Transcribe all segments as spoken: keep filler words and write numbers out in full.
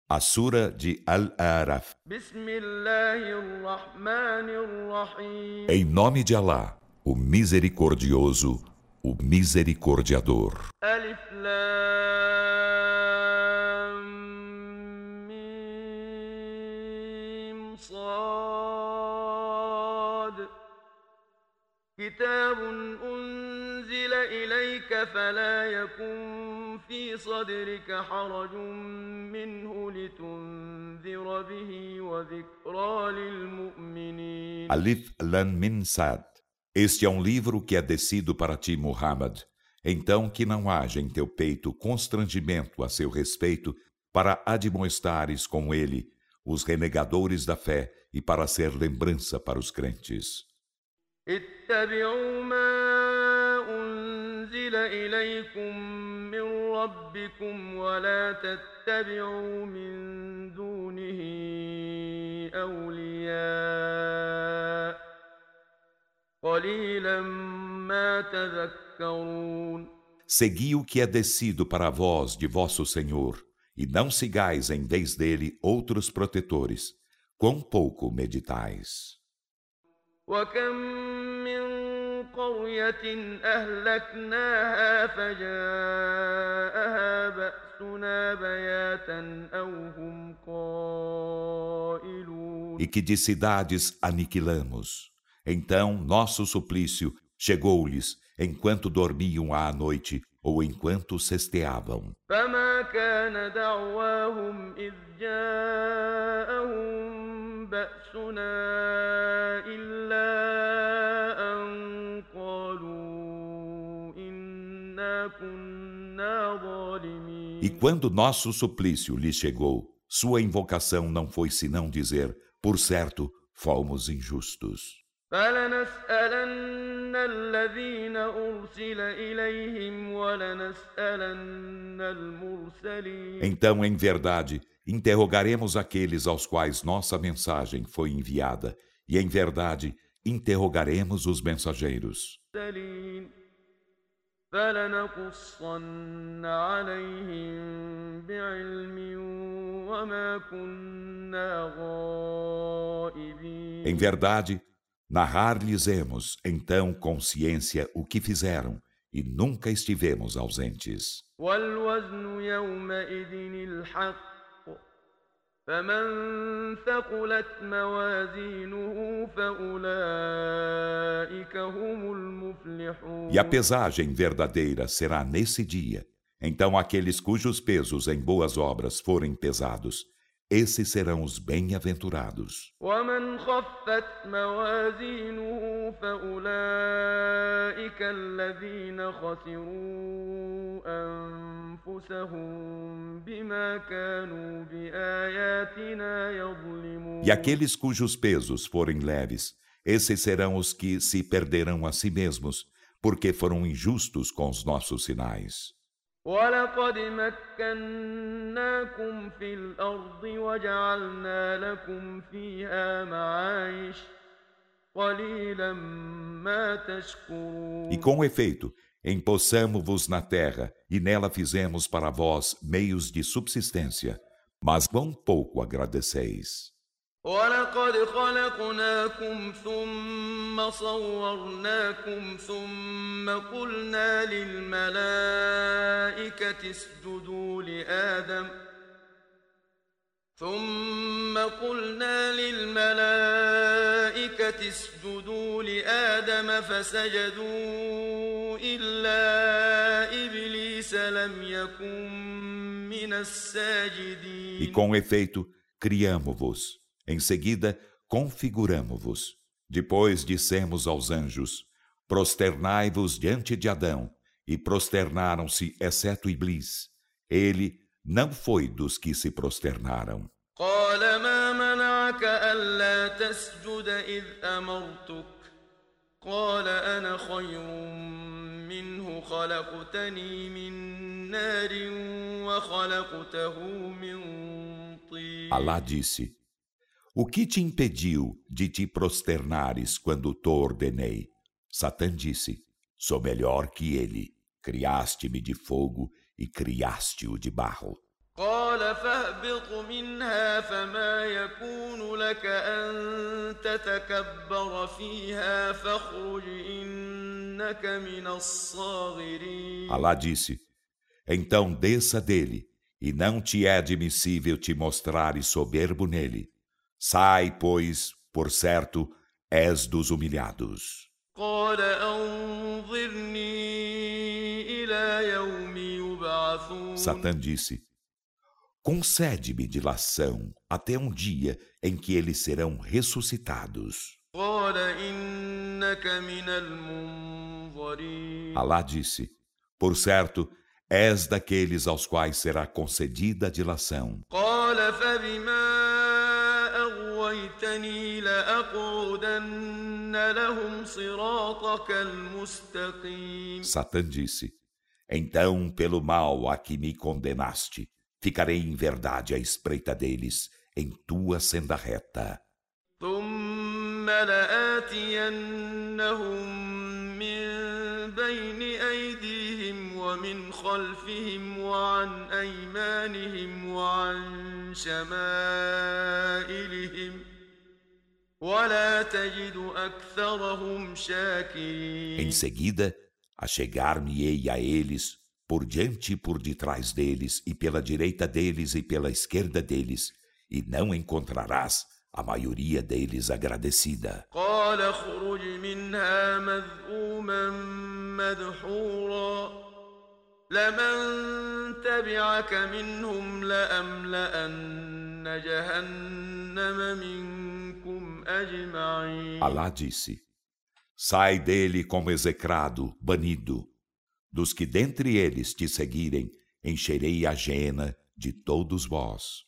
A Sura de Al-A'raf. Em nome de Alá, o Misericordioso, o Misericordiador. Alif Lam Mim Sad. كتاب أنزل إليك فلا يكن في صدرك حرج منه لتنذر به وذكرى للمؤمنين. Alif Lam Mim Sad. Este é um livro que é descido para ti, Muhammad. Então que não haja em teu peito constrangimento a seu respeito, para admoestares com ele os renegadores da fé e para ser lembrança para os crentes. اتبعوا ما أنزل إليكم من ربكم ولا تتبعوا من دونه أولياء قليلا ما تذكرون. Segui o que é descido para vós de vosso Senhor, e não sigais em vez dele outros protetores. Quão pouco meditais. وكم من قرية أهلكناها فجاءها بأسنا بياتا أو هم قائلون. E que de cidades aniquilamos. Então nosso suplício chegou-lhes enquanto dormiam à noite ou enquanto cesteavam. فما كان دعواهم إذ جاءهم بأسنا إلا أن قالوا إنا كنا ظالمين. E quando nosso suplício lhes chegou, sua invocação não foi senão dizer: por certo, fomos injustos. فلنسألن الذين أرسل إليهم ولنسألن المرسلين. Então, em verdade, interrogaremos aqueles aos quais nossa mensagem foi enviada, e em verdade, interrogaremos os mensageiros. فلنقصن عليهم بعلم وما كنا غائبين. Em verdade, narrar-lhes-emos, então, com ciência o que fizeram, e nunca estivemos ausentes. وَالْوَزْنُ يَوْمَئِذٍ الْحَقُّ فَمَنْ ثَقُلَتْ مَوَازِينُهُ فَأُولَئِكَ هُمُ الْمُفْلِحُونَ. E a pesagem verdadeira será nesse dia. Então aqueles cujos pesos em boas obras forem pesados, esses serão os bem-aventurados. وَمَنْ خَفَّتْ مَوَازِينُهُ فَأُولَئِكَ الَّذِينَ خَسِرُوا أَنفُسَهُمْ بِمَا كَانُوا بِآيَاتِنَا يَظْلِمُونَ. E aqueles cujos pesos forem leves, esses serão os que se perderão a si mesmos, porque foram injustos com os nossos sinais. وَلَقَدْ مَكَّنَّاكُمْ فِي الْأَرْضِ وَجَعَلْنَا لَكُمْ فِيهَا مَعَايِشَ قَلِيلًا مَا تَشْكُرُونَ. E com efeito, empossamo-vos na terra, e nela fizemos para vós meios de subsistência, mas quão pouco agradeceis. وَلَقَدْ خَلَقْنَاكُمْ ثُمَّ صَوَّرْنَاكُمْ ثُمَّ قُلْنَا لِلْمَلَائِكَةِ اسْجُدُوا لِآدَمَ ثُمَّ قُلْنَا لِلْمَلَائِكَةِ اسْجُدُوا لِآدَمَ فَسَجَدُوا إِلَّا إِبْلِيسَ لَمْ يَكُنْ مِنَ السَّاجِدِينَ. E com efeito, criamo-vos. Em seguida, configuramo-vos. Depois dissemos aos anjos: prosternai-vos diante de Adão. E prosternaram-se, exceto Iblis. Ele não foi dos que se prosternaram. قال ما منعك ألا تسجد إذ أمرتك قال أنا خير منه خلقتني من نار وخلقته من طين. Alá disse: o que te impediu de te prosternares quando te ordenei? Satã disse: sou melhor que ele. Criaste-me de fogo e criaste-o de barro. قال قال فاهبط منها فما يكون لك أن تتكبر فيها فاخرج إنك من الصاغرين. Alá disse: então desça dele, e não te é admissível te mostrares soberbo nele. Sai, pois, por certo, és dos humilhados. قال أنظرني إلى يوم يبعثون. Satã disse: concede-me dilação até um dia em que eles serão ressuscitados. قال إنك من المنظرين. Alá disse: por certo, és daqueles aos quais será concedida a dilação. قال فبما أغويتني لأقعدن لهم صراطك المستقيم. Satã disse: então, pelo mal a que me condenaste, ficarei em verdade à espreita deles, em tua senda reta. ثم لآتينهم من بين أيديهم ومن خلفهم وعن أيمانهم وعن شمائلهم ولا تجد أكثرهم شاكرين. Em seguida, achegar-me-ei a eles, por diante e por detrás deles, e pela direita deles e pela esquerda deles, e não encontrarás a maioria deles agradecida. قال اخرج منها مذءوما مدحورا لمن تبعك منهم لأملأن جهنم منكم أجمعين. Alá disse: sai dele como execrado, banido. Dos que dentre eles te seguirem, encherei a Geena de todos vós.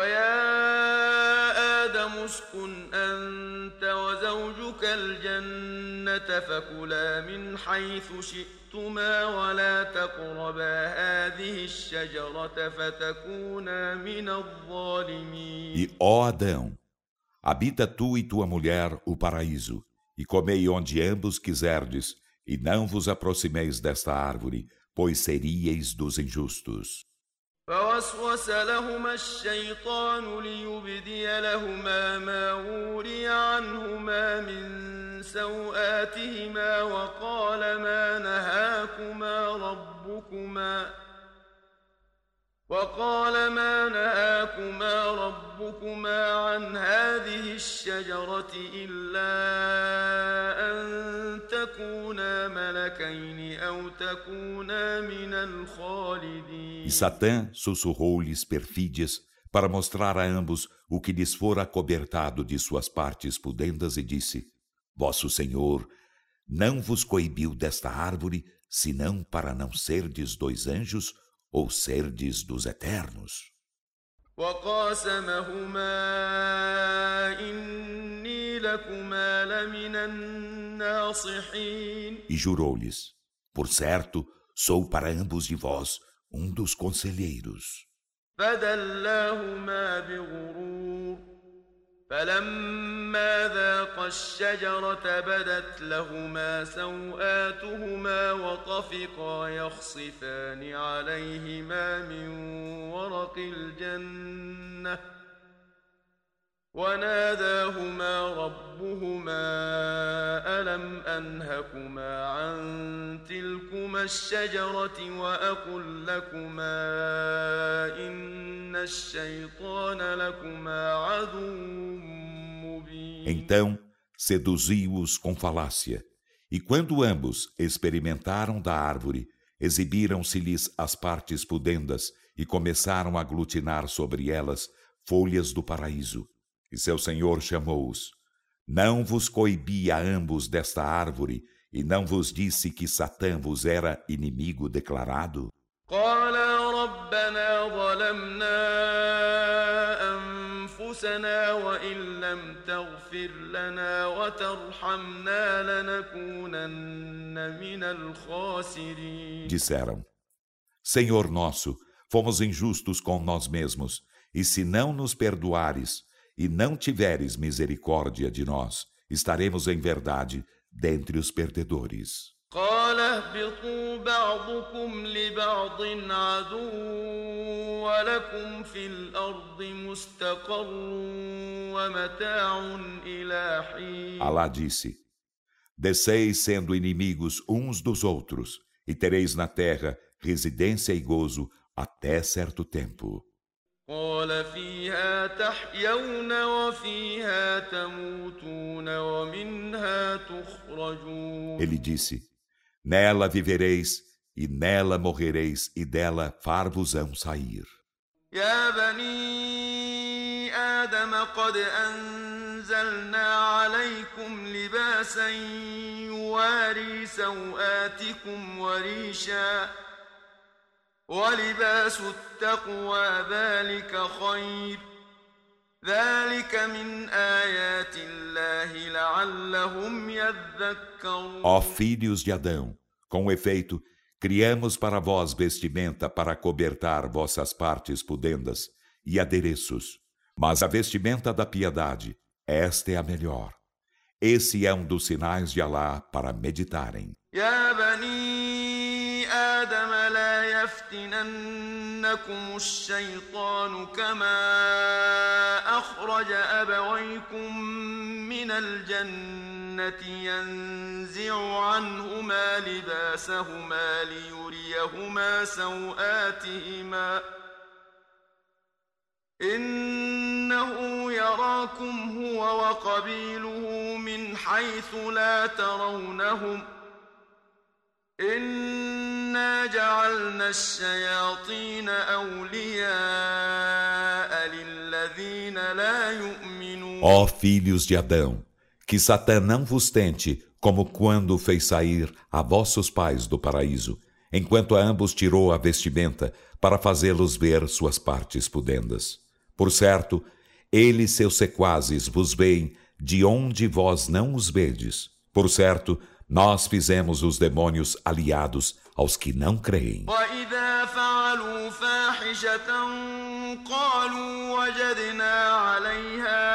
اسكن أنت وزوجك الجنة فكلا من حيث شئتما ولا تقربا هذه الشجرة فتكونا من الظالمين. E, ó Adão, habita tu e tua mulher o paraíso, e comei onde ambos quiserdes, e não vos aproximeis desta árvore, pois seríeis dos injustos. فوسوس لهما الشيطان ليبدي لهما ما وري عنهما من سوآتهما وقال ما نهاكما ربكما وقال ما نهاكما ربكما عن هذه الشجرة إلا أن تكونا ملكين أو تكونا من الخالدين. E Satã sussurrou-lhes perfídias para mostrar a ambos o que lhes fora acobertado de suas partes pudendas e disse: Vosso Senhor não vos coibiu desta árvore, senão para não serdes dois anjos ou serdes dos eternos. وقاسمهما إني لكما لمن الناصحين. E jurou-lhes: Por certo, sou para ambos de vós um dos conselheiros. فدلاهما بغرور فلما ذاقا الشجرة بدت لهما سوآتهما وطفقا يخصفان عليهما من ورق الجنة وناداهما ربهما ألم أنهكما عن تلكما الشجرة وأقل لكما إن الشيطان لكما عدو مبين. Então seduziu-os com falácia, e quando ambos experimentaram da árvore, exibiram-se-lhes as partes pudendas e começaram a aglutinar sobre elas folhas do paraíso. E seu Senhor chamou-os: Não vos coibi a ambos desta árvore, e não vos disse que Satã vos era inimigo declarado? قالا ربنا ظلمنا أنفسنا وإن لم تغفر لنا وترحمنا لنكونن من الخاسرين. Disseram: Senhor nosso, fomos injustos com nós mesmos, e se não nos perdoares e não tiveres misericórdia de nós, estaremos em verdade dentre os perdedores. قال اهبطوا بعضكم لبعض عدو ولكم في الأرض مستقر ومتاع إلى حين. Alá disse: desceis sendo inimigos uns dos outros, e tereis na terra residência e gozo até certo tempo. قال فيها تحيون وفيها تموتون ومنها تخرجون. Ele disse: nela vivereis e nela morrereis e dela far-vos-ão sair. يا بني آدم قد أنزلنا عليكم لباسا يواري سوآتكم وريشا ولباس التقوى ذلك خير ذلك من آيات الله لعلهم يذكرون. Ó filhos de Adão, com efeito, criamos para vós vestimenta para cobertar vossas partes pudendas e adereços, mas a vestimenta da piedade, esta é a melhor. Esse é um dos sinais de Alá para meditarem. يا بني آدم لا يفتننكم الشيطان كما أخرج أبويكم من الجنة ينزع عنهما لباسهما ليريهما سوآتهما إنه يراكم هو وقبيله من حيث لا ترونهم إنا جعلنا الشياطين أولياء للذين لا يؤمنون. Ó filhos de Adão, que Satã não vos tente, como quando fez sair a vossos pais do paraíso, enquanto a ambos tirou a vestimenta para fazê-los ver suas partes pudendas. Por certo, ele e seus sequazes vos veem de onde vós não os vedes. Por certo, nós fizemos os demônios aliados aos que não creem. وَإِذَا فَعَلُوا فَاحِشَةً قَالُوا وَجَدْنَا عَلَيْهَا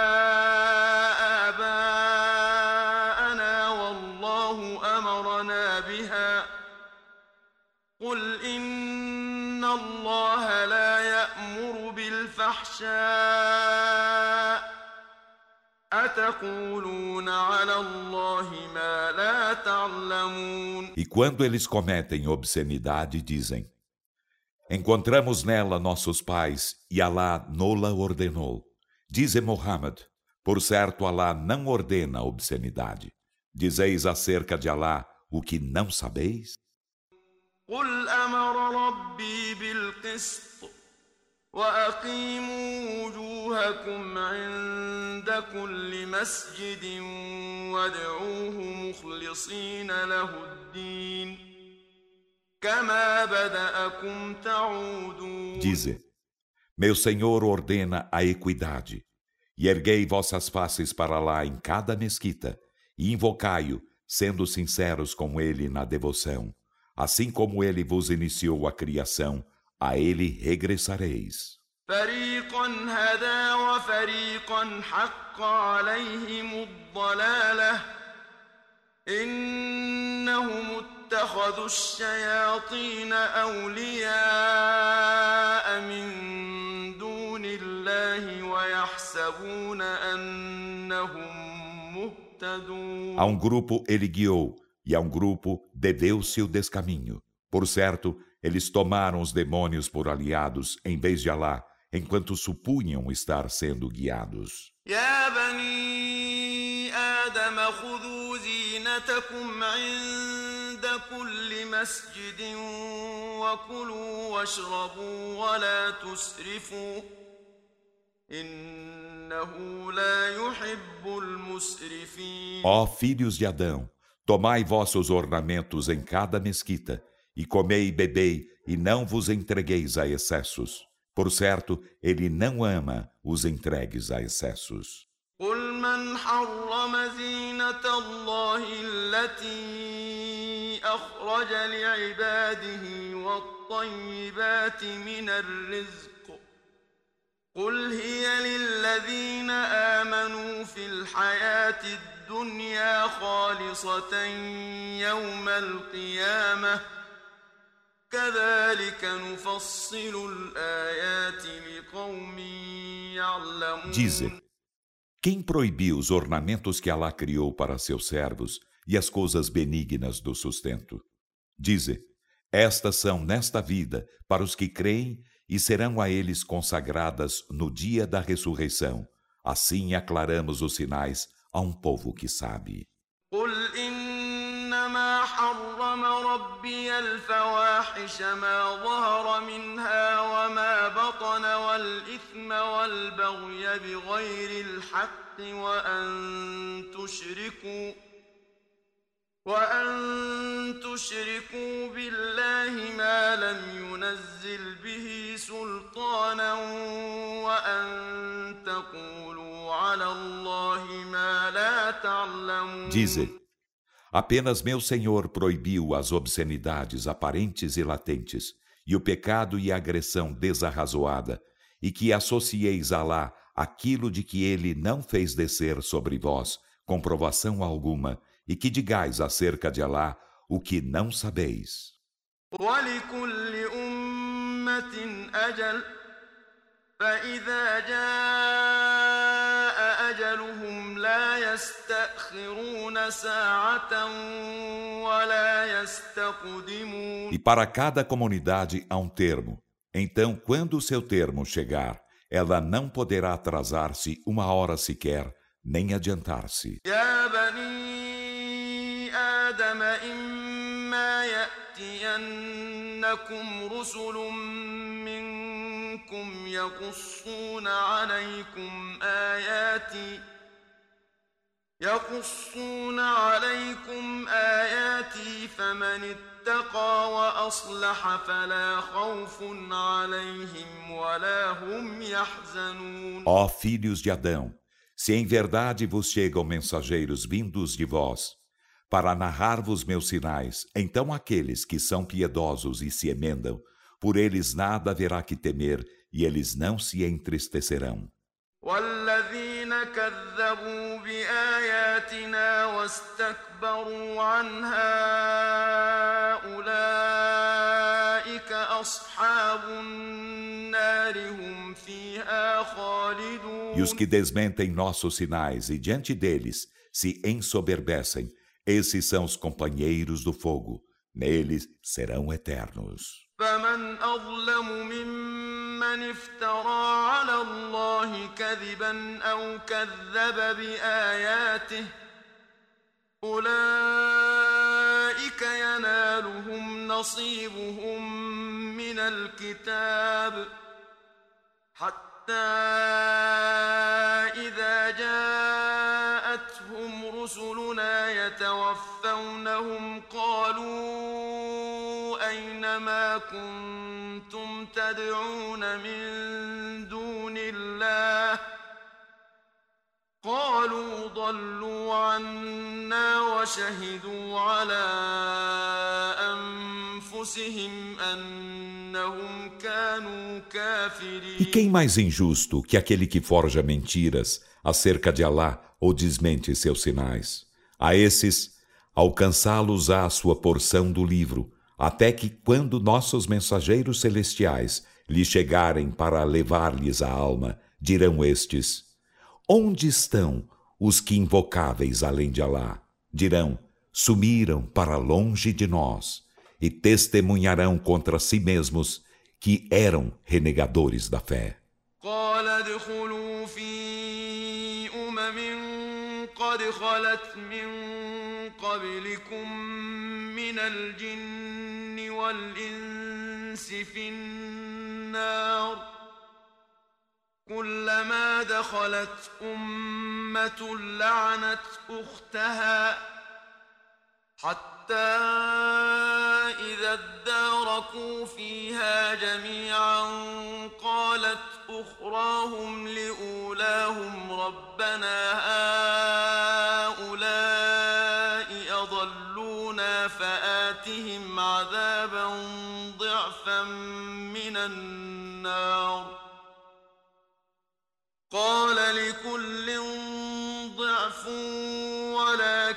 آبَاءَنَا وَاللَّهُ أَمَرَنَا بِهَا قُلْ إِنَّ اللَّهَ لَا يَأْمُرُ بِالْفَحْشَاءِ أَتَقُولُونَ عَلَى اللَّهِ مَا لَا تَعْلَمُونَ. E quando eles cometem obscenidade, dizem: encontramos nela nossos pais e Alá nola ordenou. Dize Muhammad: por certo Alá não ordena a obscenidade. Dizeis acerca de Alá o que não sabeis? قُلْ أَمَرَ رَبِّي بِالْقِسْطِ وَأَقِيمُوا وُجُوهَكُمْ عِندَ كُلِّ مَسْجِدٍ وَادْعُوهُ مُخْلِصِينَ لَهُ الدِّينَ كَمَا بَدَأَكُمْ تَعُودُونَ. Dize: meu Senhor ordena a equidade, e erguei vossas faces para lá em cada mesquita, e invocai-o, sendo sinceros com ele na devoção. Assim como ele vos iniciou a criação, a ele regressareis. فريقا هدى وفريقا حق عليهم الضلالة إنهم اتخذوا الشياطين أولياء من دون الله ويحسبون أنهم مهتدون. A um grupo ele guiou, e a um grupo deveu-se o descaminho. Por certo, eles tomaram os demônios por aliados em vez de Alá, enquanto supunham estar sendo guiados. يا بني آدم خذوا زينتكم عند كل مسجد وكلوا واشربوا ولا تسرفوا إنه لا يحب المسرفين. Ó filhos de Adão, tomai vossos ornamentos em cada mesquita, e comei e bebei, e não vos entregueis a excessos. Por certo, ele não ama os entregues a excessos. قل من حرم زينة الله التي أخرج لعباده والطيبات من الرزق قل هي للذين آمنوا في الحياة الدنيا الدنيا خالصة يوم القيامة كذلك نفصل الآيات لقوم يعلمون. Dize, quem proibiu os ornamentos que Alá criou para seus servos e as coisas benignas do sustento? Dize, estas são nesta vida para os que creem e serão a eles consagradas no dia da ressurreição. Assim aclaramos os sinais a um povo que sabe. قل إنما حرم ربي الفواحش ما ظهر منها وما بطن والإثم والبغي بغير الحق وأن تشركوا وأن تشركوا بالله ما لم ينزل به سلطانا وأن تقولوا على الله ما لا تعلمون. Dize, apenas meu Senhor proibiu as obscenidades aparentes e latentes, e o pecado e a agressão desarrazoada, e que associeis a Alá aquilo de que ele não fez descer sobre vós comprovação alguma, e que digais acerca de Alá o que não sabeis. وَلِكُلِّ أُمَّةٍ أَجَلٌ فَإِذَا جَاءَ أَجَلُهُمْ لَا يَسْتَأْخِرُونَ سَاعَةً وَلَا يَسْتَقْدِمُونَ. E para cada comunidade há um termo. Então, quando o seu termo chegar, ela não poderá atrasar-se uma hora sequer, nem adiantar-se. يَا بَنِي آدَمَ إِمَّا يَأْتِيَنَّكُمْ رُسُلٌ مِّنكُمْ يَقُصُّونَ عَلَيْكُمْ آيَاتِي يَقُصُّونَ عَلَيْكُمْ آيَاتِي فَمَنِ اتَّقَىٰ وَأَصْلَحَ فَلَا خَوْفٌ عَلَيْهِمْ وَلَا هُمْ يَحْزَنُونَ. Ó filhos de Adão, se em verdade vos chegam mensageiros vindos de vós, para narrar-vos meus sinais, então aqueles que são piedosos e se emendam, por eles nada haverá que temer, e eles não se entristecerão. وَالَّذِينَ كَذَّبُوا بِآيَاتِنَا وَاسْتَكْبَرُوا عَنْهَا أُولَئِكَ أَصْحَابُ النَّارِ هُمْ فِيهَا خَالِدُونَ. E os que desmentem nossos sinais e diante deles se ensoberbecem, esses são os companheiros do fogo, neles serão eternos. فَمَنْ أَظْلَمُ مِمَّنِ افْتَرَىٰ عَلَى اللَّهِ كَذِبًا أَوْ كَذَّبَ بِآيَاتِهِ أُولَئِكَ يَنَالُهُمْ نَصِيبُهُم مِّنَ الْكِتَابِ حَتَّىٰ إِذَا جَاءَتْهُمْ رُسُلُنَا يَتَوَفَّوْنَهُمْ قَالُوا أَيْنَ مَا كُنتُمْ تَدْعُونَ مِن دُونِ اللَّهِ قَالُوا ضَلُّوا عَنَّا وَشَهِدُوا عَلَىٰ أَنفُسِهِمْ أَنَّهُمْ كَانُوا كَافِرِينَ. E quem mais injusto que aquele que forja mentiras acerca de Alá ou desmente seus sinais? A esses, alcançá-los-á a sua porção do livro, até que, quando nossos mensageiros celestiais lhes chegarem para levar-lhes a alma, dirão estes: onde estão os que invocáveis além de Alá? Dirão: sumiram para longe de nós, e testemunharão contra si mesmos que eram renegadores da fé. قال ادخلوا في أمم قد خلت من قبلكم من الجن والإنس في النار كلما دخلت أمة لعنت أختها حتى إذا اداركوا فيها جميعا قالت أخراهم لأولاهم ربنا هؤلاء أضلونا فآتهم عذابا ضعفا من النار قال لكل ضعف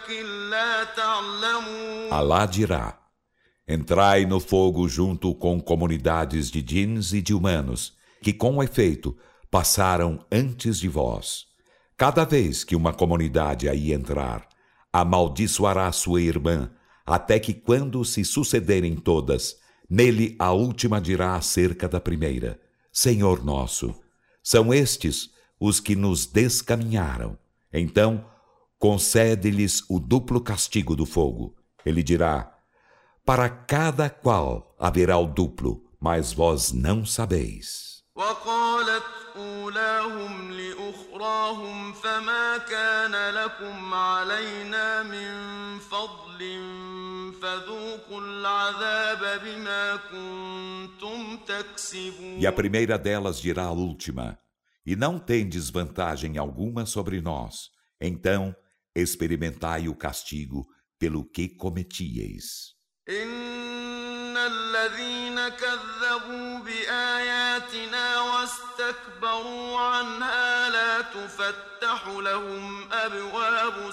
ولكن لا تعلمون. Alá dirá: entrai no fogo junto com comunidades de djinns e de humanos, que com efeito passaram antes de vós. Cada vez que uma comunidade aí entrar, amaldiçoará sua irmã, até que quando se sucederem todas, nele a última dirá acerca da primeira: Senhor nosso, são estes os que nos descaminharam. Então, concede-lhes o duplo castigo do fogo. Ele dirá: para cada qual haverá o duplo, mas vós não sabeis. وقالت أولاهم لأخراهم فما كان لكم علينا من فضل فذوقوا العذاب بما كنتم تكسبون. E a primeira delas dirá à última: e não tendes vantagem alguma sobre nós, então experimentai o castigo pelo que cometieis. إن الذين كذبوا بآياتنا واستكبروا عنها لا تفتح لهم أبواب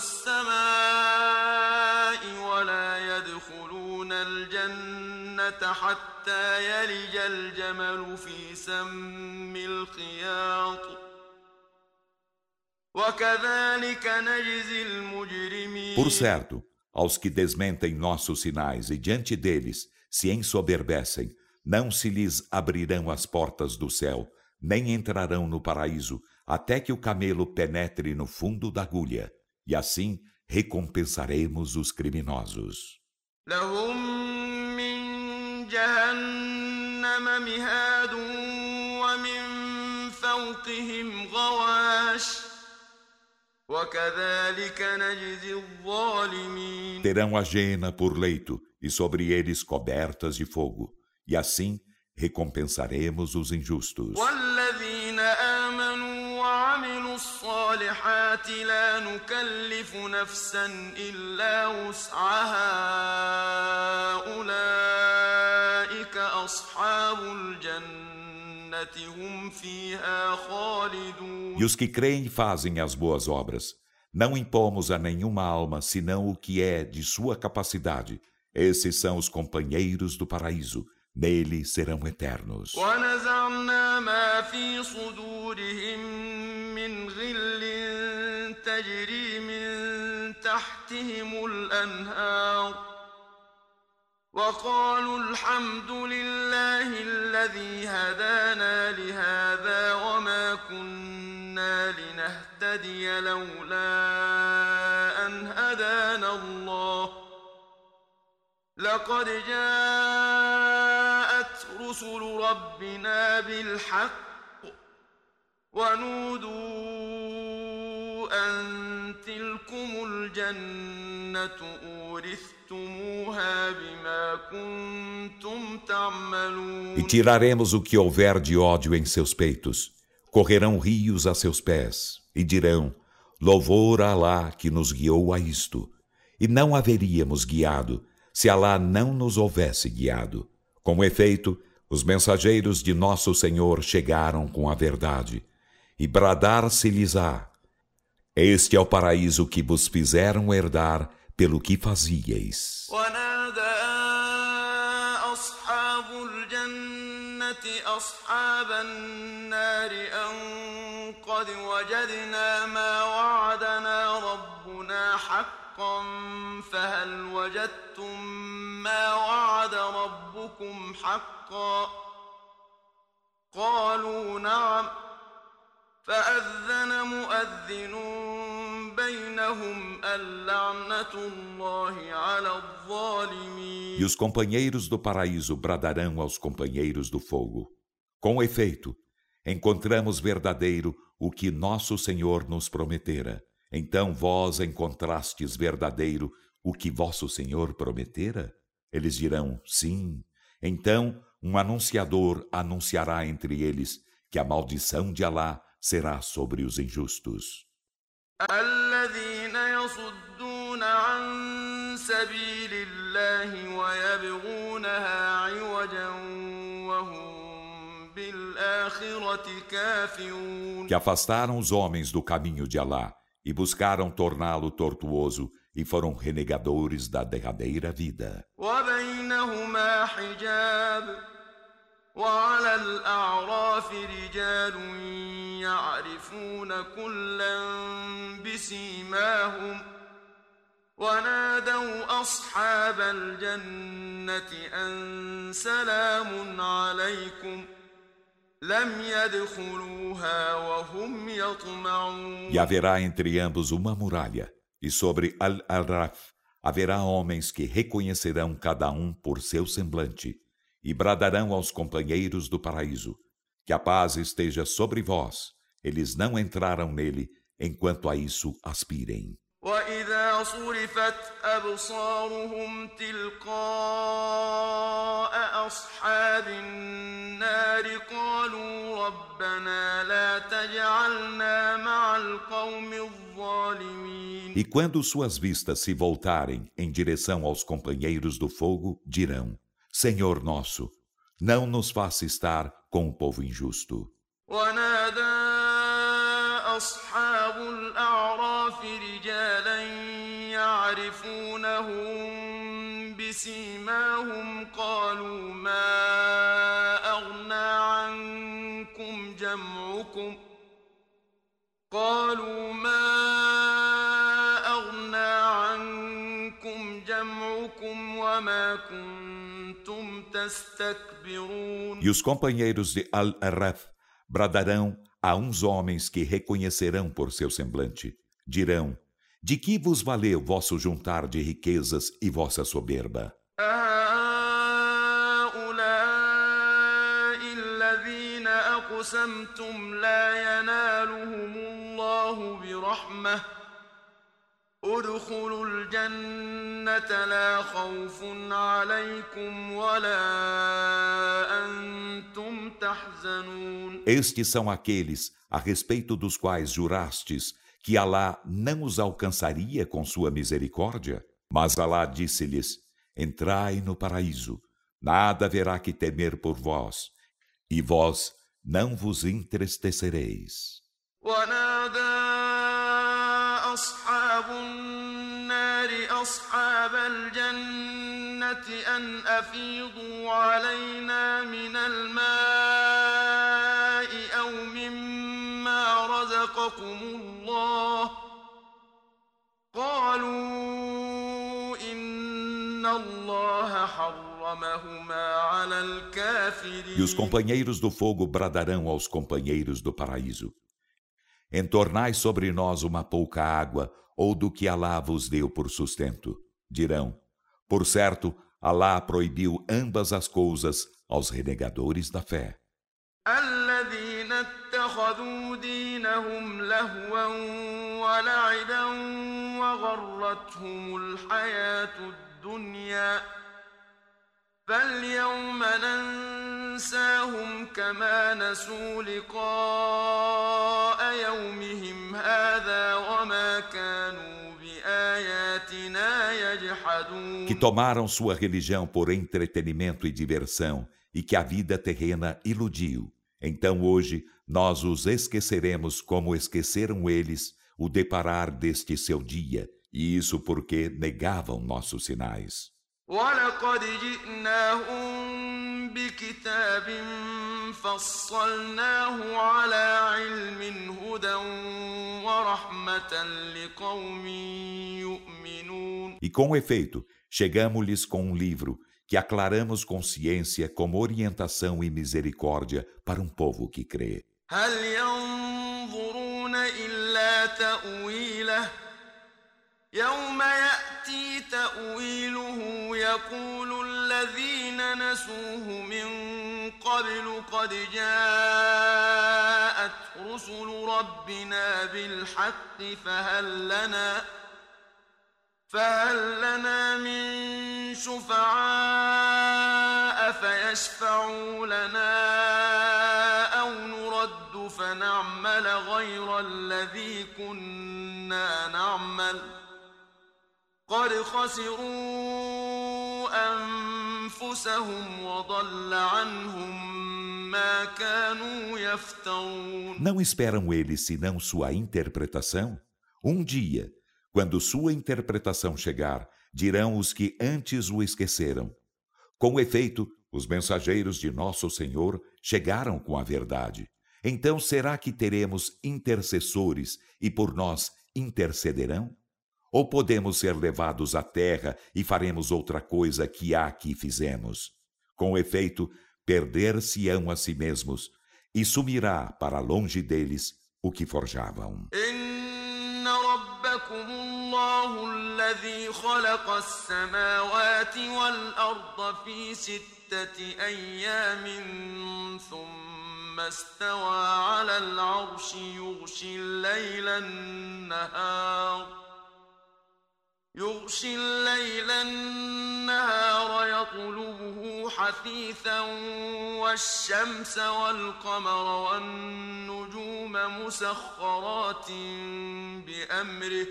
السماء ولا يدخلون الجنة حتى يلج الجمل في سم الخياط وكذلك نجزي المجرمين. Por certo, aos que desmentem nossos sinais e diante deles se ensoberbecem, não se lhes abrirão as portas do céu, nem entrarão no paraíso, até que o camelo penetre no fundo da agulha, e assim recompensaremos os criminosos. لهم من جهنم مهاد ومن فوقهم غواش وكذلك نجزي الظالمين. Terão a jena por leito e sobre eles cobertas de fogo, e assim recompensaremos os injustos. والذين آمنوا وعملوا الصالحات لا نكلف نفسا إلا وسعها أولئك أصحاب الجنة هم فيها خالدون. E os que creem e fazem as boas obras, não impomos a nenhuma alma senão o que é de sua capacidade. Esses são os companheiros do paraíso, nele serão eternos. ونزعنا ما في صدورهم من غل تجري من تحتهم الأنهار وقالوا الحمد لله الذي هدانا لهذا وما كنا لنهتدي لولا أن هدانا الله لقد جاءت رسل ربنا بالحق ونودوا أن تلكم الجنة أورثتموها بما كنتم تعملون. E tiraremos o que houver de ódio em seus peitos. Correrão rios a seus pés e dirão: louvor a Alá que nos guiou a isto. E não haveríamos guiado se Alá não nos houvesse guiado. Com efeito, os mensageiros de nosso Senhor chegaram com a verdade, e bradar-se-lhes-á: este é o paraíso que vos fizeram herdar pelo que fazieis. أصحاب الجنة أصحاب النار أن قد وجدنا ما وعدنا ربنا حقا فهل وجدتم ما وعد ربكم حقا قالوا نعم فأذن مؤذن بينهم اللعنة الله على الظالمين. E os companheiros do paraíso bradarão aos companheiros do fogo: com efeito, encontramos verdadeiro o que nosso Senhor nos prometera. Então vós encontrastes verdadeiro o que vosso Senhor prometera? Eles dirão: sim. Então um anunciador anunciará entre eles que a maldição de Alá será sobre os injustos. الذين يصدون عن سبيل الله ويبغونها عوجا وهم بالآخرة كافرون. Que afastaram os homens do caminho de Alá e buscaram torná-lo tortuoso e foram renegadores da derradeira vida. وبينهما حجاب وعلى الأعراف رجال يعرفون كلا بسيماهم ونادوا أصحاب الجنة أن سلام عليكم لم يدخلوها وهم يطمعون. E haverá entre ambos uma muralha, e sobre Al-Araf haverá homens que reconhecerão cada um por seu semblante, e bradarão aos companheiros do paraíso, que a paz esteja sobre vós. Eles não entraram nele, enquanto a isso aspirem. وإذا صرفت أبصارهم تلقاء أصحاب النار قالوا ربنا لا تجعلنا مع القوم الظالمين. E quando suas vistas se voltarem em direção aos companheiros do fogo, dirão: Senhor nosso, não nos faça estar com o povo injusto. ونادى أصحاب الأعراف رجالا يعرفونهم بسيماهم قالوا ما أغنى عنكم جمعكم قالوا ما أغنى عنكم جمعكم وما كنتم تستكبرون. E os companheiros de Al-Araf bradarão a uns homens que reconhecerão por seu semblante. Dirão: de que vos valeu vosso juntar de riquezas e vossa soberba? هؤلاء الذين أقسمتم لا ينالهم الله برحمة ادخلوا الجنة لا خوف عليكم ولا أنتم تحزنون. Estes são aqueles a respeito dos quais jurastes que Alá não os alcançaria com sua misericórdia. Mas Alá disse-lhes: entrai no paraíso, nada haverá que temer por vós, e vós não vos entristecereis. أصحاب النار أصحاب الجنة أن أفيضوا علينا من الماء أو مما رزقكم الله قالوا إن الله حرمهما على الكافرين. E os companheiros do fogo bradarão aos companheiros do paraíso: entornai sobre nós uma pouca água, ou do que Alá vos deu por sustento. Dirão: por certo, Alá proibiu ambas as coisas aos renegadores da fé. الذين اتخذوا دينهم لهوا ولعبا وغرتهم الحياة الدنيا فاليوم ننساهم كما نسوا لقاء يومهم هذا وما كانوا بآياتنا يجحدون. Que tomaram sua religião por entretenimento e diversão, e que a vida terrena iludiu. Então hoje nós os esqueceremos como esqueceram eles o deparar deste seu dia, e isso porque negavam nossos sinais. وَلَقَدْ جِئْنَاهُمْ بِكِتَابٍ فَصَّلْنَاهُ عَلَى عِلْمٍ هُدًى وَرَحْمَةً لِقَوْمٍ يُؤْمِنُونَ. E com efeito, chegamo-lhes com um livro que aclaramos com ciência como orientação e misericórdia para um povo que crê. هَلْ يَنظُرُونَ إِلَّا تَأْوِيلَهُ يوم يأتي تأويله يقول الذين نسوه من قبل قد جاءت رسل ربنا بالحق فهل لنا فهل لنا من شفعاء فيشفعوا لنا أو نرد فنعمل غير الذي كنا نعمل قد خسروا أنفسهم وضل عنهم ما كانوا يفترون. Não esperam eles senão sua interpretação? Um dia, Quando sua interpretação chegar, dirão os que antes o esqueceram: com efeito, os mensageiros de nosso Senhor chegaram com a verdade. Então será que teremos intercessores e por nós intercederão? Ou podemos ser levados à terra e faremos outra coisa que há que fizemos? Com efeito, perder-se-ão a si mesmos e sumirá para longe deles o que forjavam. ربكم الله الذي خلق السماوات والأرض في ستة أيام ثم استوى على العرش يغشي الليل النهار يغشي الليل النهار يطلبه حثيثا والشمس والقمر والنجوم مسخرات بأمره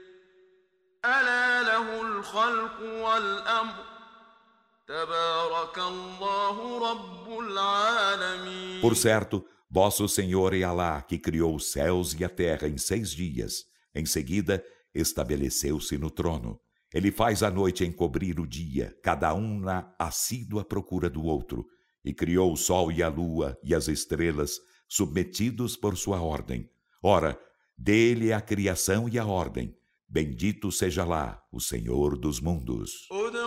ألا له الخلق والأمر تبارك الله رب العالمين. Por certo, vosso Senhor é Alá, que criou os céus e a terra em seis dias. Em seguida, estabeleceu-se no trono. Ele faz a noite encobrir o dia, cada um na assídua procura do outro, e criou o sol e a lua e as estrelas, submetidos por sua ordem. Ora, dele é a criação e a ordem. Bendito seja lá o Senhor dos mundos.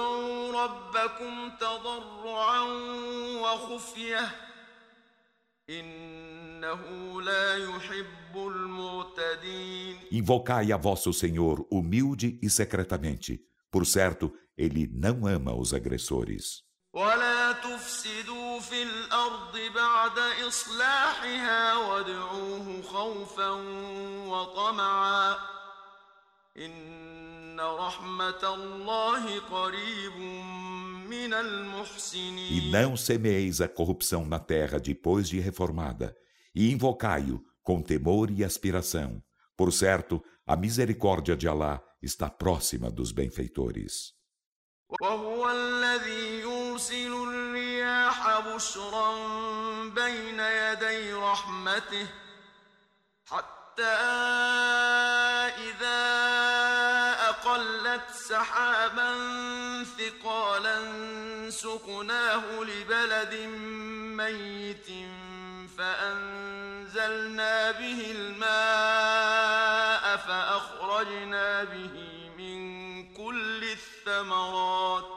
Invocai a vosso Senhor humilde e secretamente. Por certo, ele não ama os agressores. ولا تفسدوا في الأرض بعد إصلاحها وادعوه خوفا وطمعا إن رحمة الله قريب من المحسنين. E não semeis a corrupção na terra depois de reformada, e invocai-o com temor e aspiração. Por certo, a misericórdia de Alá está próxima dos benfeitores. وهو الذي يرسل الرياح بشرا بين يدي رحمته حتى إذا أقلت سحابا ثقالا سقناه لبلد ميت فأنزلنا به الماء فأخرجنا به من كل الثمرات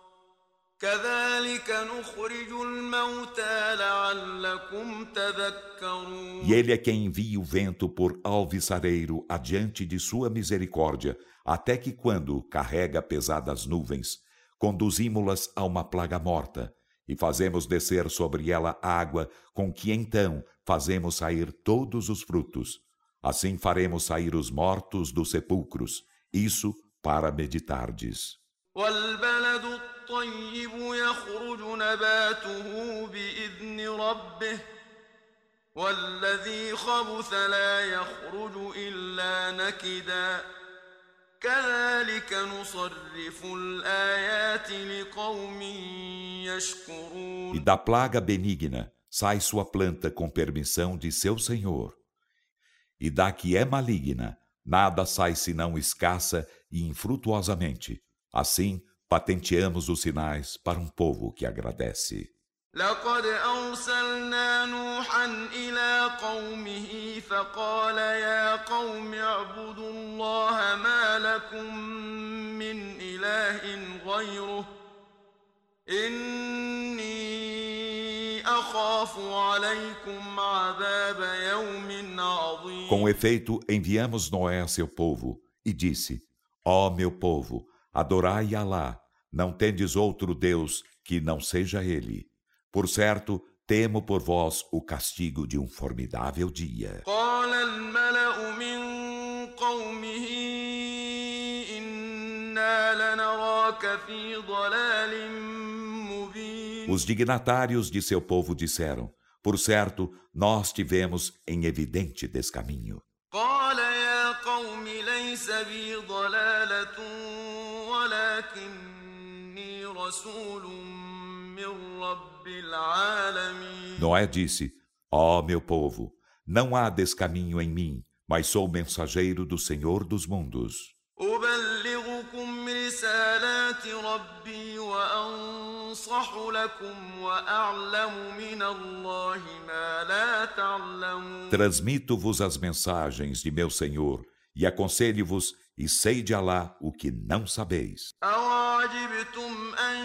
كذلك نخرج الموتى لعلكم تذكرون. E ele é quem envia o vento por alviçareiro adiante de sua misericórdia, até que quando carrega pesadas nuvens, conduzimos-las a uma plaga morta, e fazemos descer sobre ela água, com que então fazemos sair todos os frutos. Assim faremos sair os mortos dos sepulcros. Isso para meditardes. والبلد الطيب يخرج نباته بإذن ربه والذي خبث لا يخرج إلا نكدا كذلك نصرف الآيات لقوم يشكرون. E da plaga benigna sai sua planta com permissão de seu Senhor. E da que é maligna, nada sai senão escassa e infrutuosamente. Assim, patenteamos os sinais para um povo que agradece. لقد أرسلنا نوحا إلى قومه فقال يا قوم اعبدوا الله ما لكم من إله غيره إني أخاف عليكم عذاب يوم عظيم. Com efeito, enviamos Noé a seu povo e disse: Ó meu povo, adorai Alá, não tendes outro Deus que não seja Ele. Por certo, temo por vós o castigo de um formidável dia. قال الملأ من قومه إنا لنراك في ضلال مبين. Os dignatários de seu povo disseram: Por certo, nós tivemos em evidente descaminho. قال يا قوم ليس بي ضلالة ولكني رسول من رب العالمين. Noé disse: Ó meu povo, não há descaminho em mim, mas sou mensageiro do Senhor dos mundos. أفصح لكم وأعلم من الله ما لا تعلمون. Transmito-vos as mensagens de meu Senhor e aconselho-vos e sei de Alá o que não sabeis. أَوَعَجِبْتُمْ أَنْ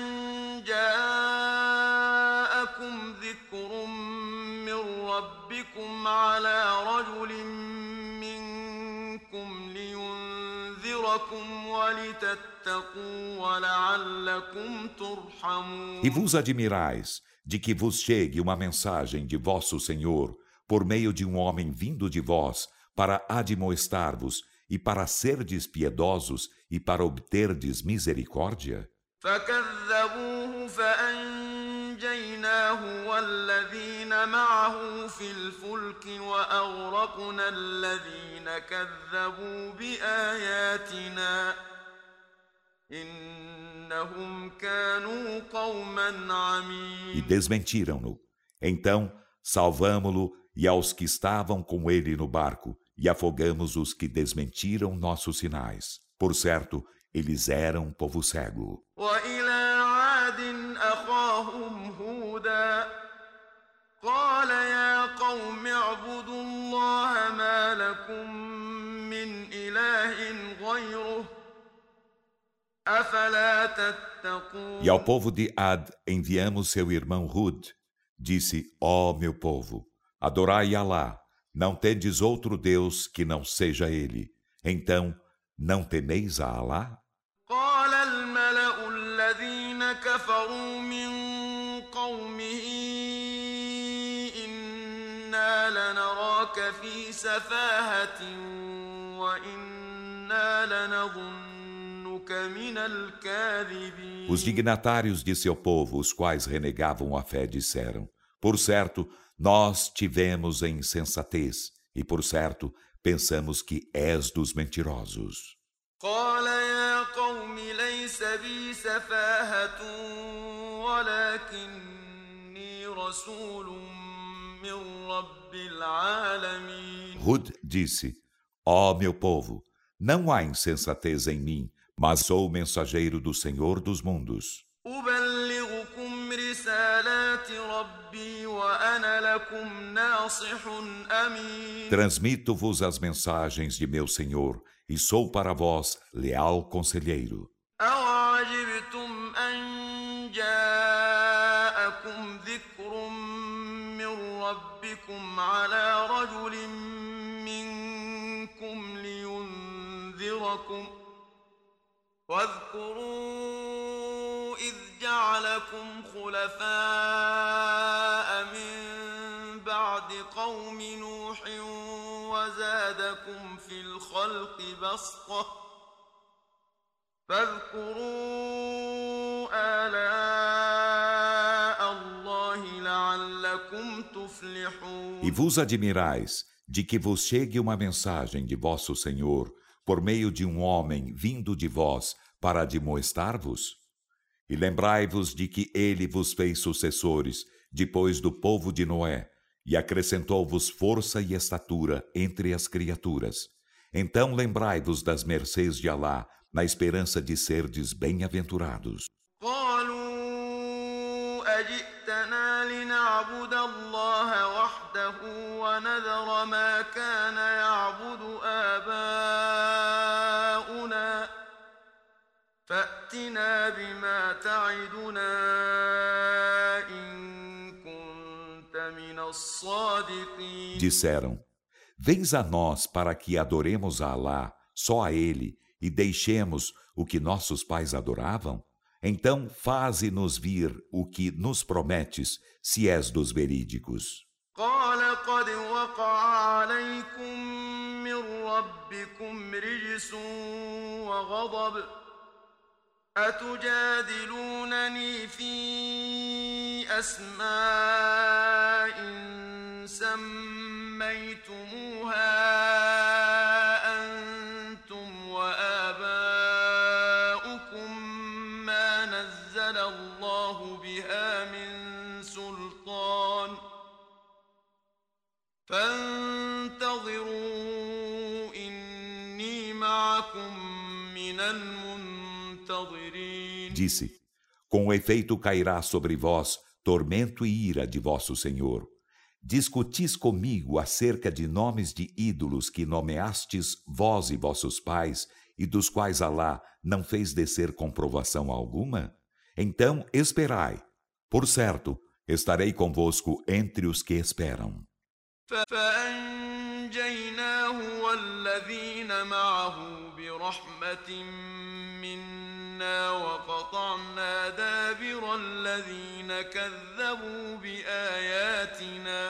جَاءَكُمْ ذِكْرٌ مِّن رَّبِّكُمْ عَلَىٰ رَجُلٍ مِّنكُمْ لِيُنذِرَكُمْ وَلِتَتَّقُوا وَلَعَلَّكُمْ تُرْحَمُونَ. E vos admirais de que vos chegue uma mensagem de vosso Senhor por meio de um homem vindo de vós para admoestar-vos e para serdes piedosos e para obterdes misericórdia? فكذبوه فأنجيناه والذين معه في الفلك وأغرقنا الذين كذبوا بآياتنا إنهم كانوا قوما E عمين. desmentiram-no. Então salvamo-lo e aos que estavam com ele no barco, e afogamos os que desmentiram nossos sinais. Por certo, eles eram povo cego. وإلى عاد أخاهم هودا قال يا قوم اعبدوا الله ما لكم من إله غيره أفلا تتقون. E ao povo de Ad enviamos seu irmão Hud. Disse: ó meu povo, adorai Alá, não tendes outro Deus que não seja Ele. Então, não temeis a Alá? قال الملأ الذين كفروا من قومه إنا لنراك في سفاهة وإنا لنظنك من الكاذبين. Os dignatários de seu povo, os quais renegavam a fé, disseram: por certo, nós tivemos em insensatez, e por certo, pensamos que és dos mentirosos. قال يا قوم ليس بي سفاهة ولكني رسول من رب العالمين. Hud disse: ó meu povo, não há insensatez em mim, mas sou o mensageiro do Senhor dos mundos. أبلغكم رسالات ربي وأنا لكم ناصح أمين. Transmito-vos as mensagens de meu Senhor, e sou para vós leal conselheiro. أَوَعَجِبْتُمْ أَنْ جَاءَكُمْ ذِكْرٌ مِّن رَّبِّكُمْ عَلَىٰ رَجُلٍ مِّنكُمْ لِيُنذِرَكُمْ واذكروا إذ جعلكم خلفاء من بعد قوم نوح وزادكم في الخلق بسطة فاذكروا آلاء الله لعلكم تفلحون. E vos admirais de que vos chegue uma mensagem de vosso Senhor por meio de um homem vindo de vós para admoestar-vos? E lembrai-vos de que ele vos fez sucessores depois do povo de Noé, e acrescentou-vos força e estatura entre as criaturas. Então lembrai-vos das mercês de Alá, na esperança de serdes bem-aventurados. أجئتنا لنعبد الله وحده ونذر ما كان يعبد آباؤنا فأتنا بما تعدنا إن كنت من الصادقين. Disseram: vens a nós para que adoremos a Alá, só a Ele, e deixemos o que nossos pais adoravam? Então faze-nos vir o que nos prometes, se és dos verídicos. قال قد وقع عليكم من ربكم رجس وغضب أتجادلونني في أسماء سميتموها أنتم وآباؤكم ما نزل الله بها من سلطان فانتظروا إني معكم من المنتظرين. Disse: Com efeito cairá sobre vós tormento e ira de vosso Senhor. Discutis comigo acerca de nomes de ídolos que nomeastes vós e vossos pais, e dos quais Alá não fez descer comprovação alguma? Então esperai. Por certo, estarei convosco entre os que esperam. فأنجيناه والذين معه برحمة منا وقطعنا دابر الذين كذبوا بآياتنا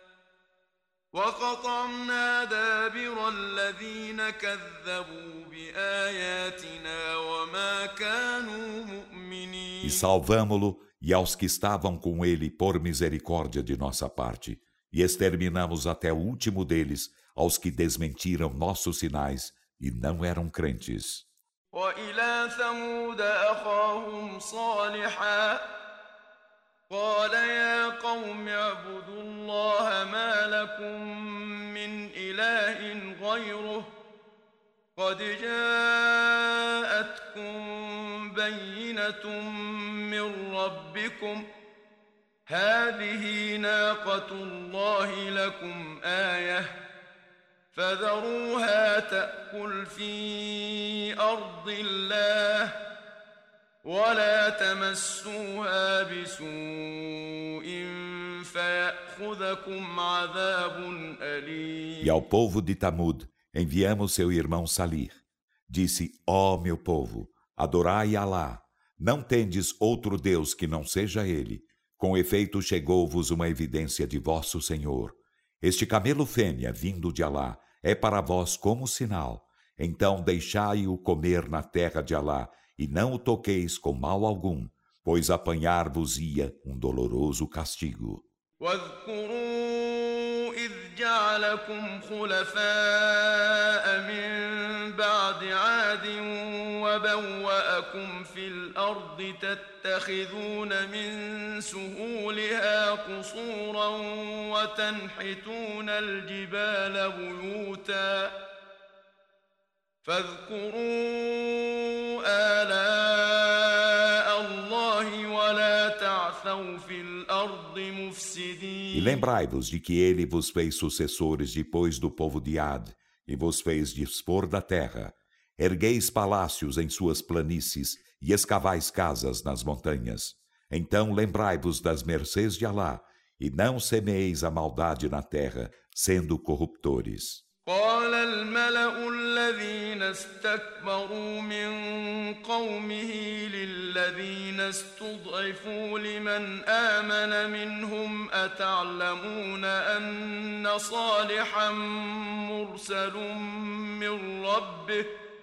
وقطعنا دابر الذين كذبوا بآياتنا وما كانوا مؤمنين. E salvamo-lo e aos que estavam com ele por misericórdia de nossa parte, e exterminamos até o último deles, aos que desmentiram nossos sinais e não eram crentes. وإلى ثمود أخاهم صالحا قال يا قوم اعبدوا الله ما لكم من إله غيره قد جاءتكم بينة من ربكم هذه ناقة الله لكم آية فذروها تأكل في أرض الله ولا تمسوها بسوء فيأخذكم عذاب أليم. E ao povo de Tamud enviamos seu irmão Salih. Disse: ó meu povo, adorai Alá. Não tendes outro Deus que não seja Ele. Com efeito chegou-vos uma evidência de vosso Senhor. Este camelo fêmea vindo de Alá é para vós como sinal. Então deixai-o comer na terra de Alá e não o toqueis com mal algum, pois apanhar-vos-ia um doloroso castigo. واذكروا إذ جعلكم خلفاء من بعد عاد وبوأكم في الأرض تتخذون من سهولها قصورا وتنحتون الجبال بيوتا فاذكروا آلاء الله ولا تعثوا في الأرض مفسدين. E lembrai-vos de que ele vos fez sucessores depois do povo de Ad, e vos fez dispor da terra. Ergueis palácios em suas planícies, e escavais casas nas montanhas. Então lembrai-vos das mercês de Alá, e não semeeis a maldade na terra, sendo corruptores. قال الملأ الذين استكبروا من قومه للذين استضعفوا لمن آمن منهم أتعلمون أن صالحا مرسل من ربه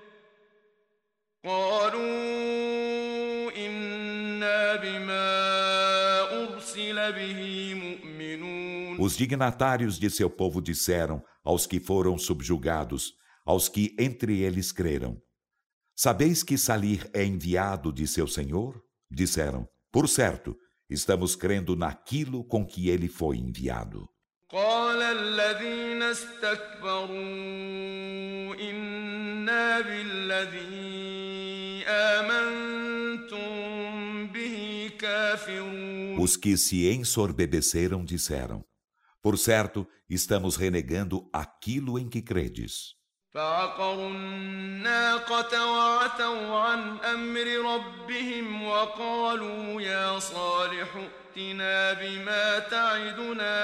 قالوا إنا بما أرسل به مؤمنون. Os dignatários de seu povo disseram aos que foram subjugados, aos que entre eles creram: sabeis que Salih é enviado de seu Senhor? Disseram: por certo, estamos crendo naquilo com que ele foi enviado. قال الذين استكبروا إنا بالذي آمنتم به كافرون. Os que se ensorbebeceram disseram: por certo, estamos renegando aquilo em que credes. فعقروا الناقة وعتوا عن أمر ربهم وقالوا يا صالح ائتنا بما تعدنا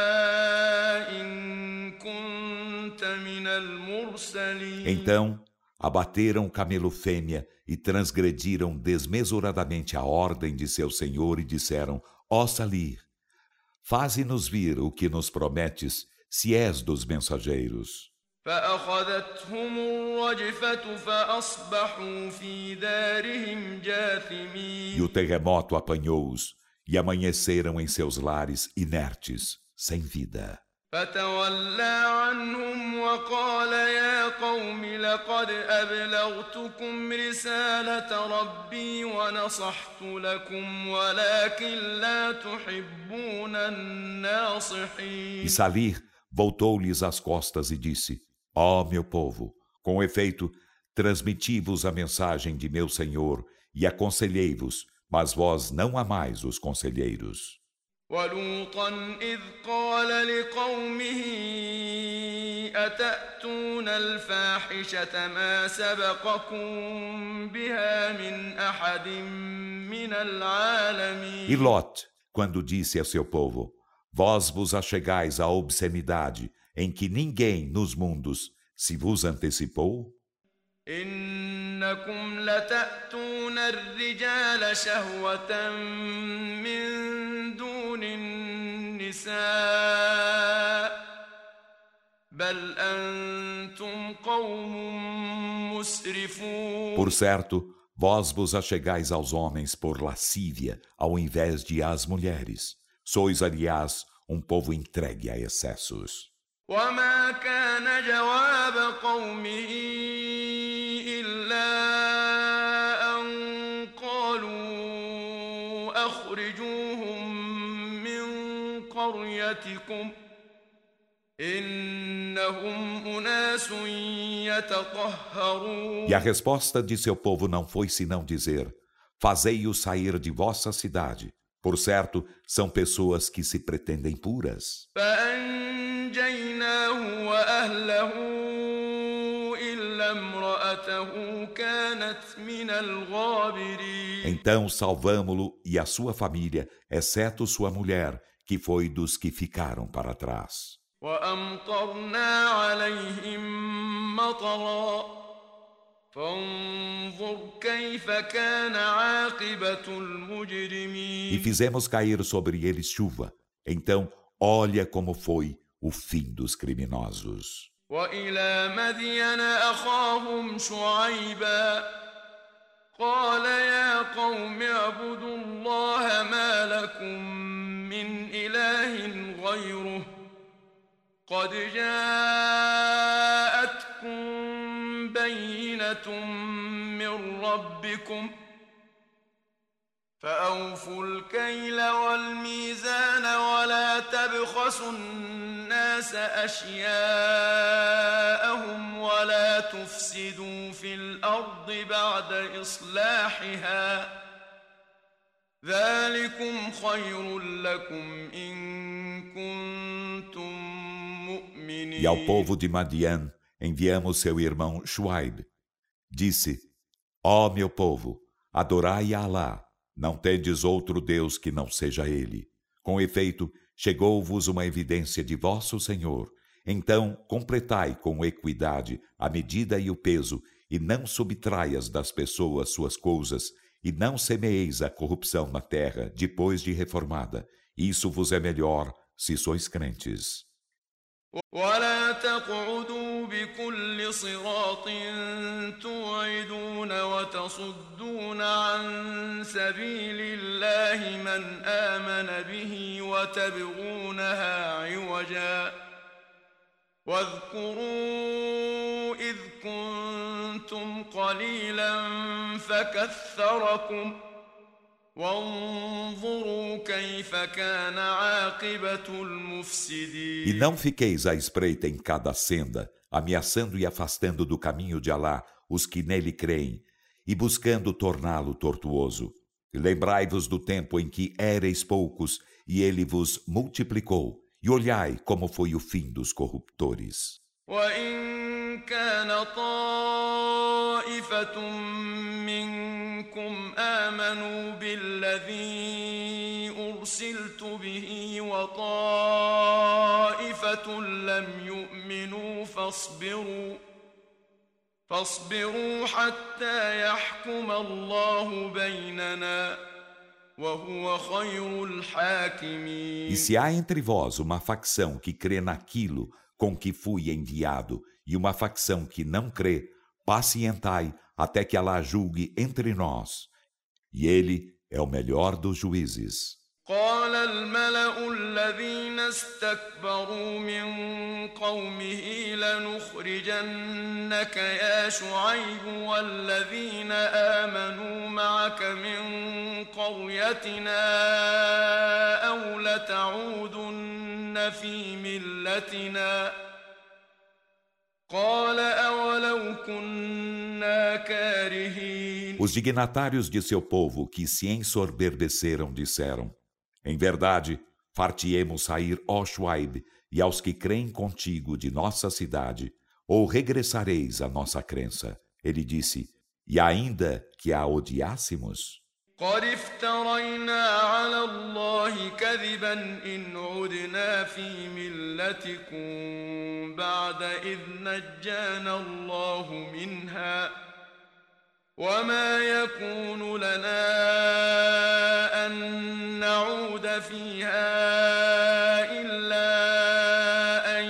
إن كنت من المرسلين. Então, abateram o camelo fêmea e transgrediram desmesuradamente a ordem de seu Senhor e disseram: ó Salih, faze-nos vir o que nos prometes, se és dos mensageiros. فأخذتهم الرجفة فأصبحوا في دارهم جاثمين. E o terremoto apanhou-os, e amanheceram em seus lares inertes, sem vida. فتولى عنهم وقال يا قوم لقد أبلغتكم رسالة ربي ونصحت لكم ولكن لا تحبون الناصحين. E Salih voltou-lhes as costas e disse: ó meu povo, com efeito, transmiti-vos a mensagem de meu Senhor e aconselhei-vos, mas vós não amais os conselheiros. ولوطا إذ قال لقومه أتأتون الفاحشة ما سبقكم بها من أحد من العالمين. E Lot, quando disse a seu povo: Vós vos achegais à obscenidade em que ninguém nos mundos se vos antecipou? إنكم لتأتون الرجال شهوة من دون النساء بل أنتم قوم مسرفون. Por certo, vós vos achegais aos homens por lascívia, ao invés de às mulheres. Sois, aliás, um povo entregue a excessos. وما كان جواب قومه إلا أن قالوا أخرجوهم من قريتكم إنهم أناس يتطهرون. E a resposta de seu povo não foi senão dizer: Fazei-os sair de vossa cidade. Por certo, são pessoas que se pretendem puras. فأنجيناه وأهله إلا امرأته كانت من الغابرين. Então salvamo-lo e a sua família, exceto sua mulher, que foi dos que ficaram para trás. وأمطرنا عليهم مطرا فانظر كيف كان عاقبة المجرمين. E fizemos cair sobre eles chuva. Então, olha como foi o fim dos criminosos. وإلى مدين أخاهم شعيبا قال يا قوم اعبدوا الله ما لكم من إله غيره قد جاءتكم بينة من ربكم فأوفوا الكيل والميزان ولا تبخسوا الناس أشياءهم ولا تفسدوا في الأرض بعد إصلاحها ذلكم خير لكم إن كنتم مؤمنين. E ao povo de Madian enviamos seu irmão Shuaib. Disse: Ó meu povo, adorai a Alá, não tendes outro Deus que não seja Ele. Com efeito, chegou-vos uma evidência de vosso Senhor. Então, completai com equidade a medida e o peso, e não subtraias das pessoas suas coisas, e não semeeis a corrupção na terra depois de reformada. Isso vos é melhor se sois crentes. ولا تقعدوا بكل صراط توعدون وتصدون عن سبيل الله من آمن به وتبغونها عوجا واذكروا إذ كنتم قليلا فكثركم وانظروا كيف كان عاقبة المفسدين. E não fiqueis à espreita em cada senda, ameaçando e afastando do caminho de Alá os que nele creem, e buscando torná-lo tortuoso. E lembrai-vos do tempo em que éreis poucos, e ele vos multiplicou, e olhai como foi o fim dos corruptores. وإن كان طائفة منكم آمنوا بالذي أرسلت به وطائفة لم يؤمنوا فاصبروا فاصبروا حتى يحكم الله بيننا وهو خير الحاكمين. E se há entre vós uma facção que crê naquilo com que fui enviado, e uma facção que não crê, pacientai até que Alá julgue entre nós. E ele é o melhor dos juízes. قال الملأ الذين استكبروا من قومه لنخرجنك يا شعيب والذين آمنوا معك من قريتنا أو لتعودن في ملتنا قال أولو كنا كارهين. Os dignatários de seu povo que se ensoberbeceram disseram: Em verdade, far-te-emos sair, ó Shuaib, e aos que creem contigo de nossa cidade, ou regressareis à nossa crença. Ele disse: E ainda que a odiássemos? قد افترينا على الله كذبا إن عدنا في ملتكم بعد إذ نجانا الله منها وما يكون لنا أن نعود فيها إلا أن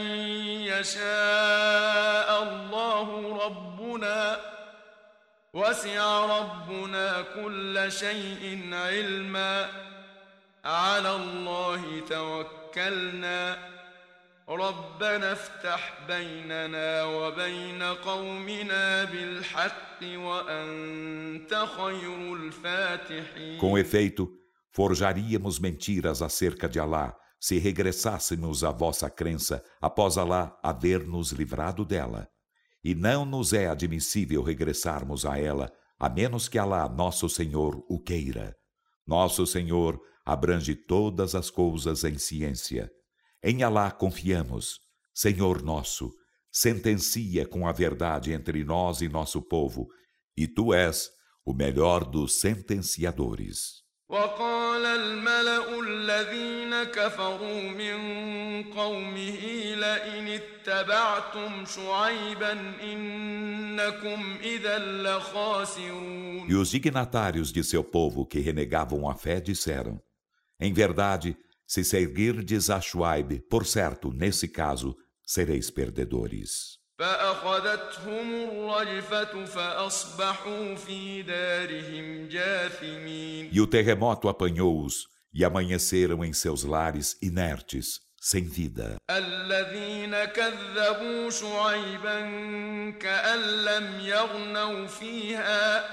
يشاء الله ربنا وسع ربنا كل شيء علما على الله توكلنا ربنا افتح بيننا وبين قومنا بالحق وأنت خير الفاتحين. Com efeito, forjaríamos mentiras acerca de Alá, se regressássemos à vossa crença após Alá haver nos livrado dela. E não nos é admissível regressarmos a ela, a menos que Alá, nosso Senhor, o queira. Nosso Senhor abrange todas as coisas em ciência. Em Alá confiamos. Senhor nosso, sentencia com a verdade entre nós e nosso povo, e Tu és o melhor dos sentenciadores. وقال الملأ الذين كفروا من قومه لئن اتبعتم شعيبا إنكم إذا لخاسرون. E os dignatários de seu povo que renegavam a fé disseram: Em verdade, se seguirdes a Shuaib, por certo, nesse caso, sereis perdedores. فأخذتهم الرجفة فأصبحوا في دارهم جاثمين. E o terremoto apanhou-os e amanheceram em seus lares inertes, sem vida. الذين كذبوا شعيبا كأن لم يغنوا فيها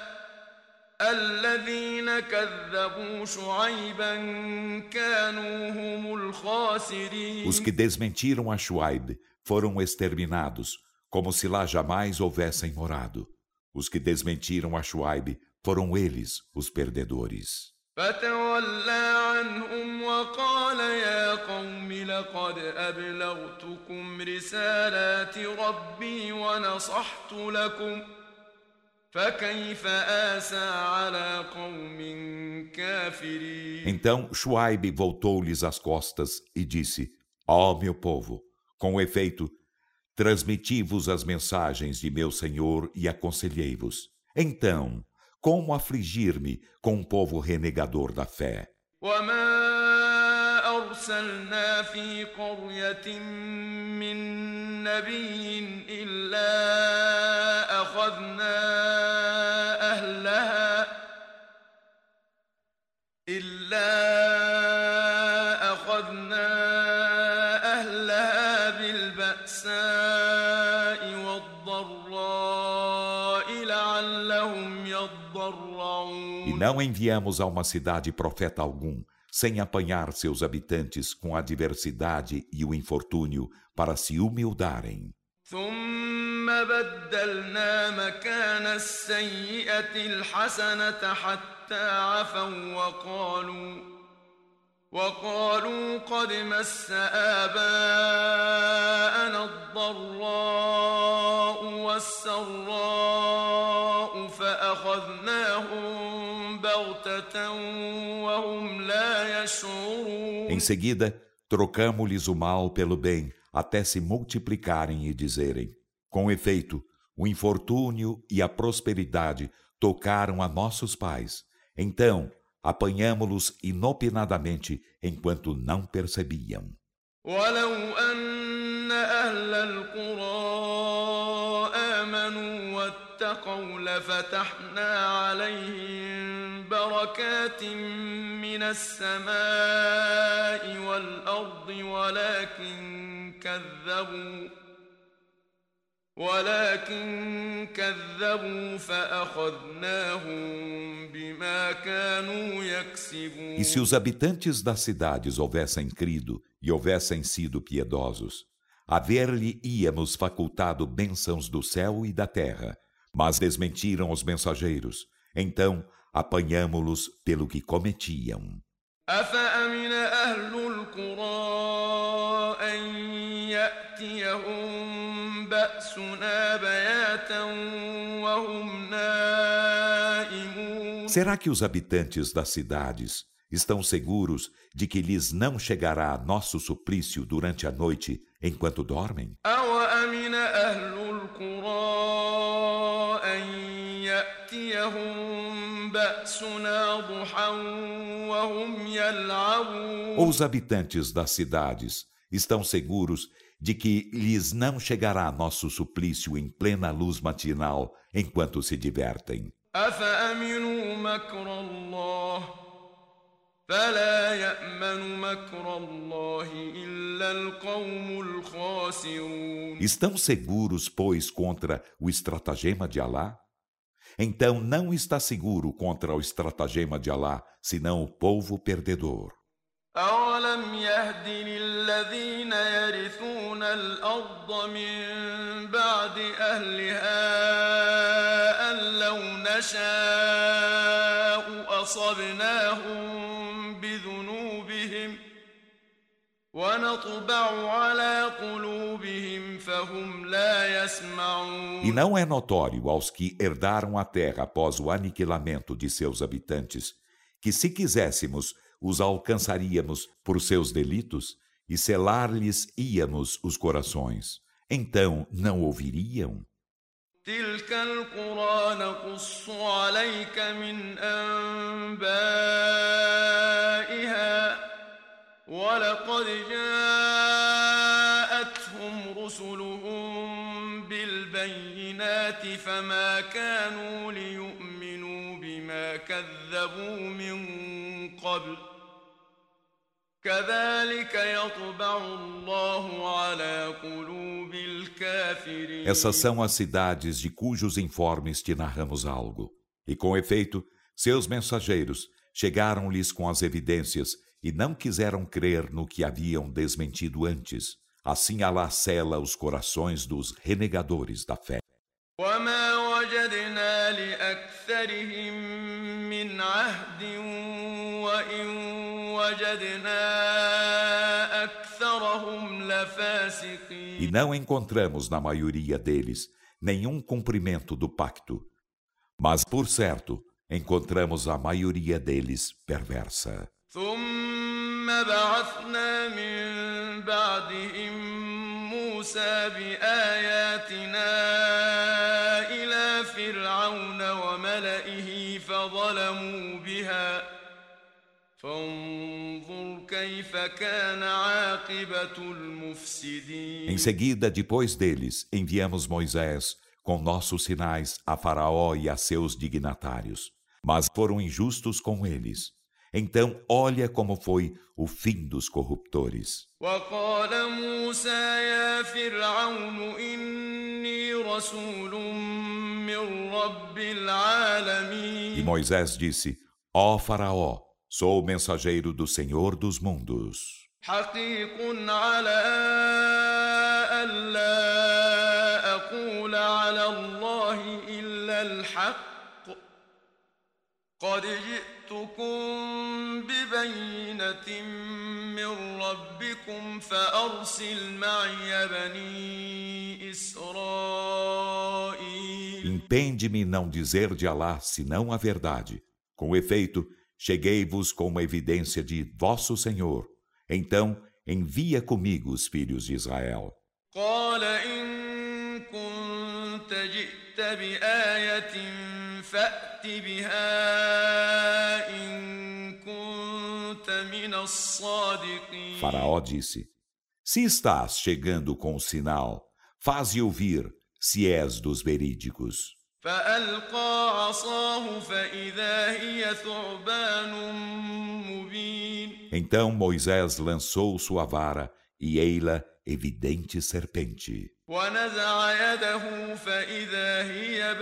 الذين كذبوا شعيبا كانوا هم الخاسرين. Os que desmentiram a Shuaib foram exterminados, como se lá jamais houvessem morado. Os que desmentiram a Shuaib foram eles os perdedores. فتولى عنهم وقال يا قوم لقد أبلغتكم رسالات ربي ونصحت لكم فكيف آسى على قوم كافرين. Então Shuaib voltou-lhes as costas e disse: Ó meu povo, com efeito, transmiti-vos as mensagens de meu Senhor e aconselhei-vos. Então, como afligir-me com um povo renegador da fé? وما أرسلنا في قرية من نبي إلا أخذنا أهلها إلا أخذنا أهلها بالبأساء والضراء لعلهم يضرعون. E não enviamos a uma cidade profeta algum, sem apanhar seus habitantes com a adversidade e o infortúnio para se humildarem. ثم بدلنا مكان السيئة الحسنة حتى عفوا وقالوا وقالوا قد مس آباءنا الضراء والسراء فأخذناهم بغتة وهم لا يشعرون. Em seguida, trocamo-lhes o mal pelo bem, até se multiplicarem e dizerem: Com efeito, o infortúnio e a prosperidade tocaram a nossos pais. Então, apanhamo-los inopinadamente, enquanto não percebiam. ولو أن أهل القرى آمنوا واتقوا لفتحنا عليهم بركات من السماء والأرض ولكن كذبوا ولكن كذبوا فأخذناهم بما كانوا يكسبون. E se os habitantes das cidades houvessem crido e houvessem sido piedosos, haver-lhe-íamos facultado bênçãos do céu e da terra, mas desmentiram os mensageiros, Então apanhamo-los pelo que cometiam. أفأمن أهل القرى أن يأتيهم بأسنا بياتا وهم نائمون Será que os habitantes das cidades estão seguros de que lhes não chegará nosso suplício durante a noite enquanto dormem? أوأمن أهل القرى أن يأتيهم بأسنا ضحى وهم يلعبون Ou os habitantes das cidades estão seguros de que lhes não chegará nosso suplício em plena luz matinal enquanto se divertem? أفأمنوا مكر الله فلا يأمن مكر الله إلا القوم الخاسرون Estão seguros, pois, contra o estratagema de Alá? Então não está seguro contra o estratagema de Alá, senão o povo perdedor. أولم يهد للذين يرثون الأرض من بعد أهلها أن لو نشاء أصبناهم بذنوبهم ونطبع على قلوبهم فهم لا يسمعون E não é notório aos que herdaram a terra após o aniquilamento de seus habitantes, que se quiséssemos, os alcançaríamos por seus delitos e selar-lhes íamos os corações. Então não ouviriam? تلك القرى نقص عليك من أنبائها ولقد جاءتهم رسلهم بالبينات فما كانوا ليؤمنوا بما كذبوا من قبل كذلك يطبع الله على قلوب الكافرين. Essas são as cidades de cujos informes te narramos algo. E com efeito, seus mensageiros chegaram-lhes com as evidências e não quiseram crer no que haviam desmentido antes. Assim Alá sela os corações dos renegadores da fé. وما وجدنا لأكثرهم من عهد وإن وجدنا أكثرهم لفاسقين. E não encontramos na maioria deles nenhum cumprimento do pacto. Mas, por certo, encontramos a maioria deles perversa. ثم بعثنا من بعدهم موسى بآياتنا إلى فرعون وملئه فظلموا بها فانظر كيف كان عاقبة المفسدين. Em seguida, depois deles, enviamos Moisés com nossos sinais a Faraó e a seus dignatários. Mas foram injustos com eles. Então, olha como foi o fim dos corruptores. وقال موسى يا فرعون إني رسول من رب E العالمين. Moisés disse: Ó Faraó, sou o mensageiro do Senhor dos mundos. حقيق على ألا أقول على الله إلا الحق قد جئتكم ببينة من ربكم فأرسل معي بني إسرائيل. Impende-me não dizer de Alá senão a verdade. Com efeito, cheguei-vos com uma evidência de vosso Senhor. Então, envia comigo os filhos de Israel. قال إن كنت جئت بآية فأت بها إن كنت من الصادقين. Faraó disse: Se estás chegando com o sinal, faze ouvir, se és dos verídicos. فألقى عصاه فإذا هي ثعبان مبين. Então Moisés lançou sua vara, e ei-la evidente serpente. ونزع يده فإذا هي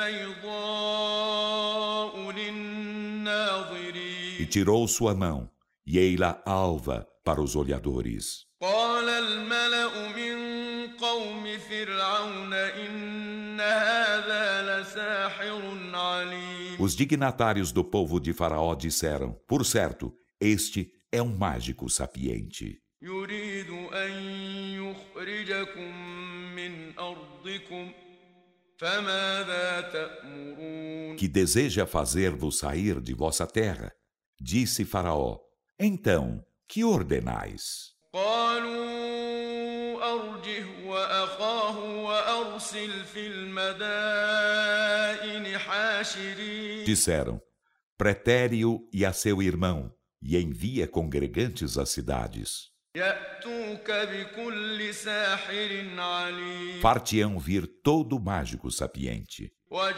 بيضاء للناظرين. E tirou sua mão, e ei-la alva para os olhadores. قال الملأ من قوم فرعون إن هذا لساحر عليم. Os dignatários do povo de Faraó disseram: por certo, este é um mágico sapiente, يريد أن يخرجكم من أرضكم فماذا تأمرون que deseja fazer-vos sair de vossa terra. Disse Faraó: então, que ordenais? قالوا أرجه وأخاه وأرسل في المدائن حاشرين Disseram: pretere-o e a seu irmão, e envia congregantes às cidades. يأتوك بكل ساحر عليم Far-te-ão vir todo mágico sapiente.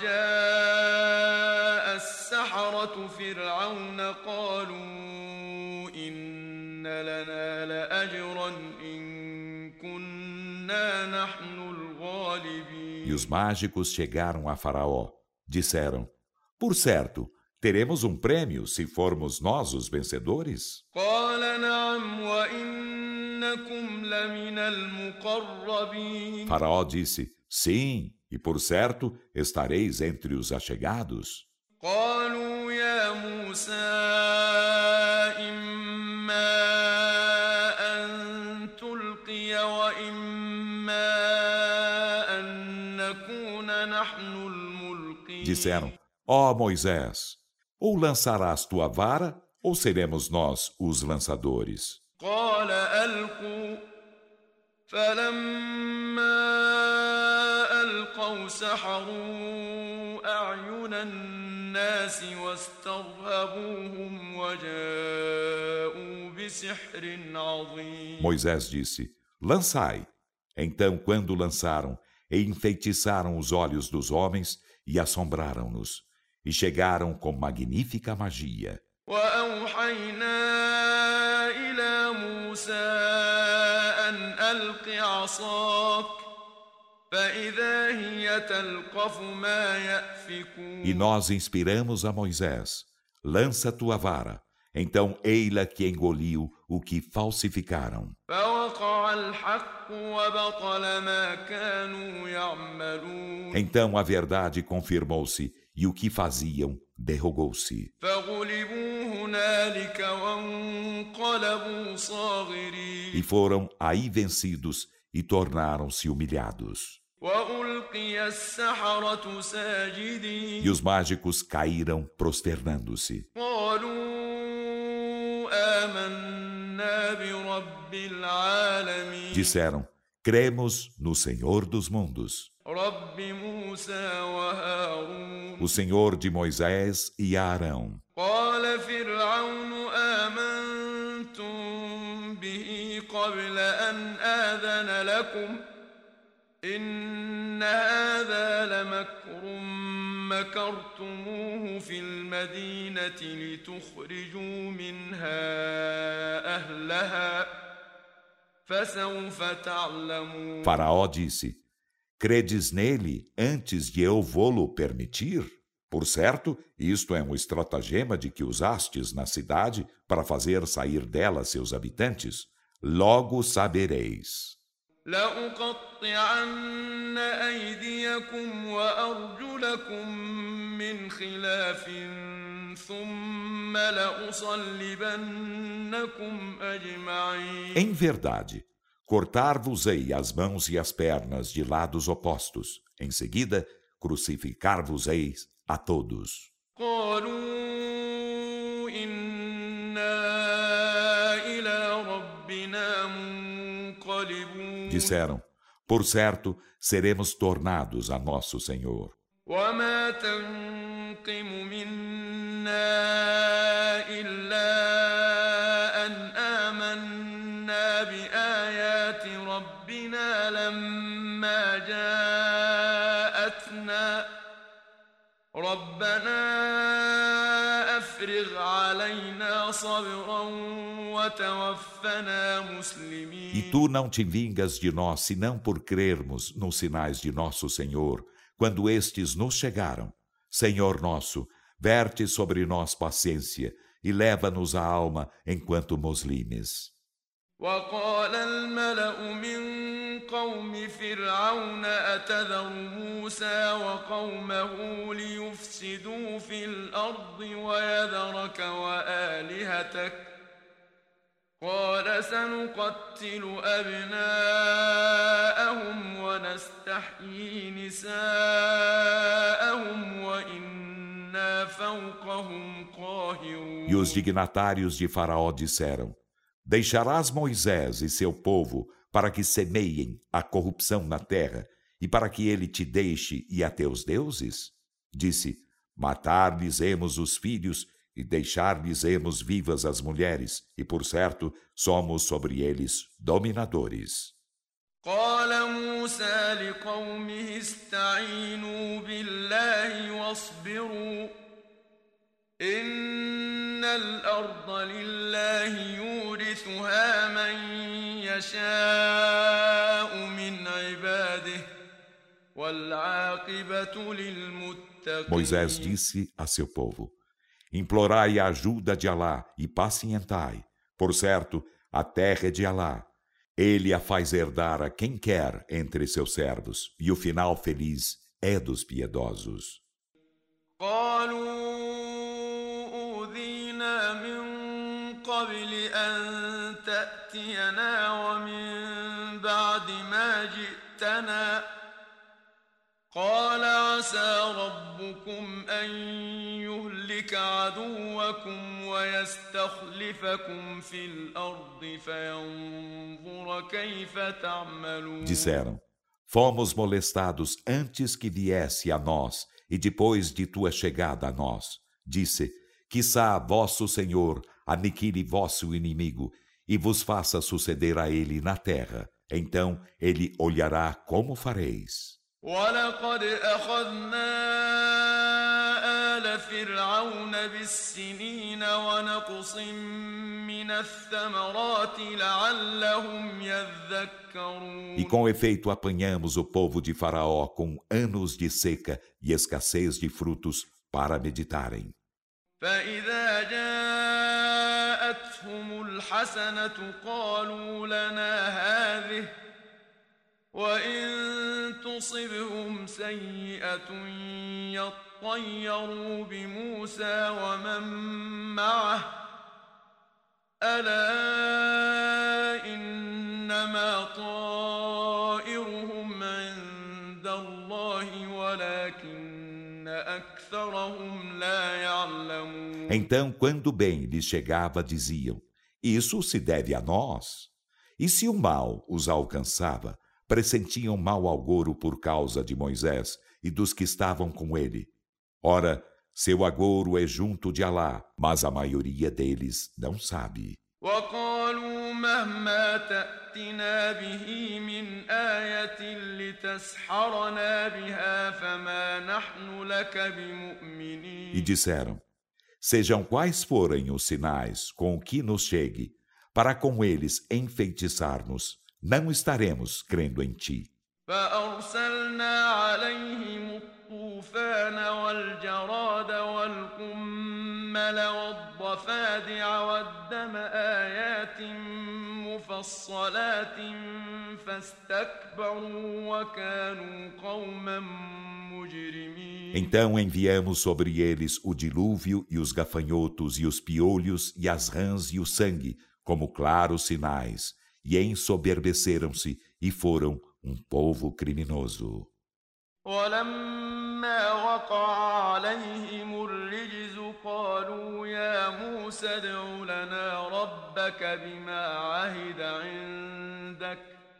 وجاء السحرة فرعون قالوا إن لنا لأجرا إن كنا نحن الغالبين E os mágicos chegaram a Faraó. Disseram: por certo, teremos um prêmio se formos nós os vencedores? قال نعم وإنكم لمن المقربين Faraó disse: sim, e por certo estareis entre os achegados. قالوا يا موسى إما أن تلقي وإما أن نكون نحن الملقين Disseram: ó Moisés, ou lançarás tua vara, ou seremos nós os lançadores. قال ألقوا فلما ألقوا سحروا أعين الناس واسترهبوهم وجاءوا بسحر عظيم Moisés disse: lançai. Então, quando lançaram, e enfeitiçaram os olhos dos homens e assombraram-nos, e chegaram com magnífica magia. وأوحينا إلى موسى أن ألق عصاك فإذا هي تلقف ما يأفكون E nós inspiramos a Moisés: lança tua vara. Então, ei-la que engoliu o que falsificaram. فوقع الحق وبطل ما كانوا يعملون Então a verdade confirmou-se, e o que faziam derrogou-se. فغلبوا هنالك وانقلبوا صاغرين E foram aí vencidos e tornaram-se humilhados. وألقي السحرة ساجدين E os mágicos caíram prosternando-se. قالوا آمنا برب العالمين Disseram: cremos no Senhor dos mundos, رب موسى وهارون o Senhor de Moisés e Arão. قال فرعون آمنتم به قبل أن آذن لكم إن هذا لمكر مكرتموه في المدينة لتخرجوا منها أهلها فسوف تعلمون Faraó disse: credes nele antes de eu vô-lo permitir? Por certo, isto é um estratagema de que usastes na cidade para fazer sair dela seus habitantes. Logo sabereis. لأقطعن أيديكم وأرجلكم من خلاف ثم لأصلبنكم أجمعين Em verdade, cortar-vos-ei as mãos e as pernas de lados opostos. Em seguida, crucificar-vos-eis a todos. قالوا إنا إلى ربنا منقلبون Disseram: por certo, seremos tornados a nosso Senhor. وما تنقم منا إلا أن آمنا بآيات ربنا لما جاءتنا ربنا أفرغ علينا صبرا وتوفنا مسلمين E tu não te vingas de nós, senão por crermos nos sinais de nosso Senhor, quando estes nos chegaram. Senhor nosso, verte sobre nós paciência e leva-nos a alma enquanto muslimes. وقال الملأ من قوم فرعون أتذر موسى وقومه ليفسدوا في الأرض ويذرك وآلهتك قال سنقتل أبناءهم ونستحيي نساءهم وإنا فوقهم قاهرون. E os dignatários de Faraó disseram: Deixarás Moisés e seu povo para que semeiem a corrupção na terra e para que ele te deixe e a teus deuses? Disse: Matar-lhes-emos os filhos e deixar-lhes-emos vivas as mulheres, e por certo somos sobre eles dominadores. قال موسى لقومه استعينوا بالله واصبروا إن الأرض لله يورثها من يشاء من عباده والعاقبة للمتقين. Moisés disse a seu povo: Implorai a ajuda de Alá e pacientai. Por certo, a terra é de Alá. Ele a faz herdar a quem quer entre seus servos, e o final feliz é dos piedosos. قبل أن تأتينا ومن بعد ما جئتنا قال عسى ربكم أن يهلك عدوكم ويستخلفكم في الأرض فينظر كيف تعملون. Disseram: Fomos molestados antes que viesse a nós e depois de tua chegada a nós. Disse: Quiçá vosso Senhor aniquile vosso inimigo e vos faça suceder a ele na terra. Então ele olhará como fareis. وَلَقَدْ أَخَذْنَا آلَ فِرْعَوْنَ بِالسِّنِينَ وَنَقْصٍ مِّنَ الثَّمَرَاتِ لَعَلَّهُمْ يَذَّكَّرُونَ. E com efeito apanhamos o povo de Faraó com anos de seca e escassez de frutos para meditarem. فإذا جاءتهم الحسنة قالوا لنا هذه وإن تصبهم سيئة يطيروا بموسى ومن معه ألا إنما طائرهم عند الله ولكن أكثرهم لا يعلمون. Então, quando bem lhes chegava, diziam: Isso se deve a nós. E se o mal os alcançava, pressentiam mau agouro por causa de Moisés e dos que estavam com ele. Ora, seu agouro é junto de Alá, mas a maioria deles não sabe. وقالوا مهما تأتنا به من آية لتسحرنا بها فما نحن لك بمؤمنين. E disseram: Sejam quais forem os sinais com o que nos chegue, para com eles enfeitiçar-nos, não estaremos crendo em ti. فأرسلنا عليهم الطوفان والجراد والقمل والضفادع والدم آيات مفصلات فاستكبروا وكانوا قوما مجرمين. Então enviamos sobre eles o dilúvio e os gafanhotos e os piolhos e as rãs e o sangue, como claros sinais, e ensoberbeceram-se e foram um povo criminoso. ولما وقع عليهم الرجز قالوا يا موسى ادع لنا ربك بما عهد عندك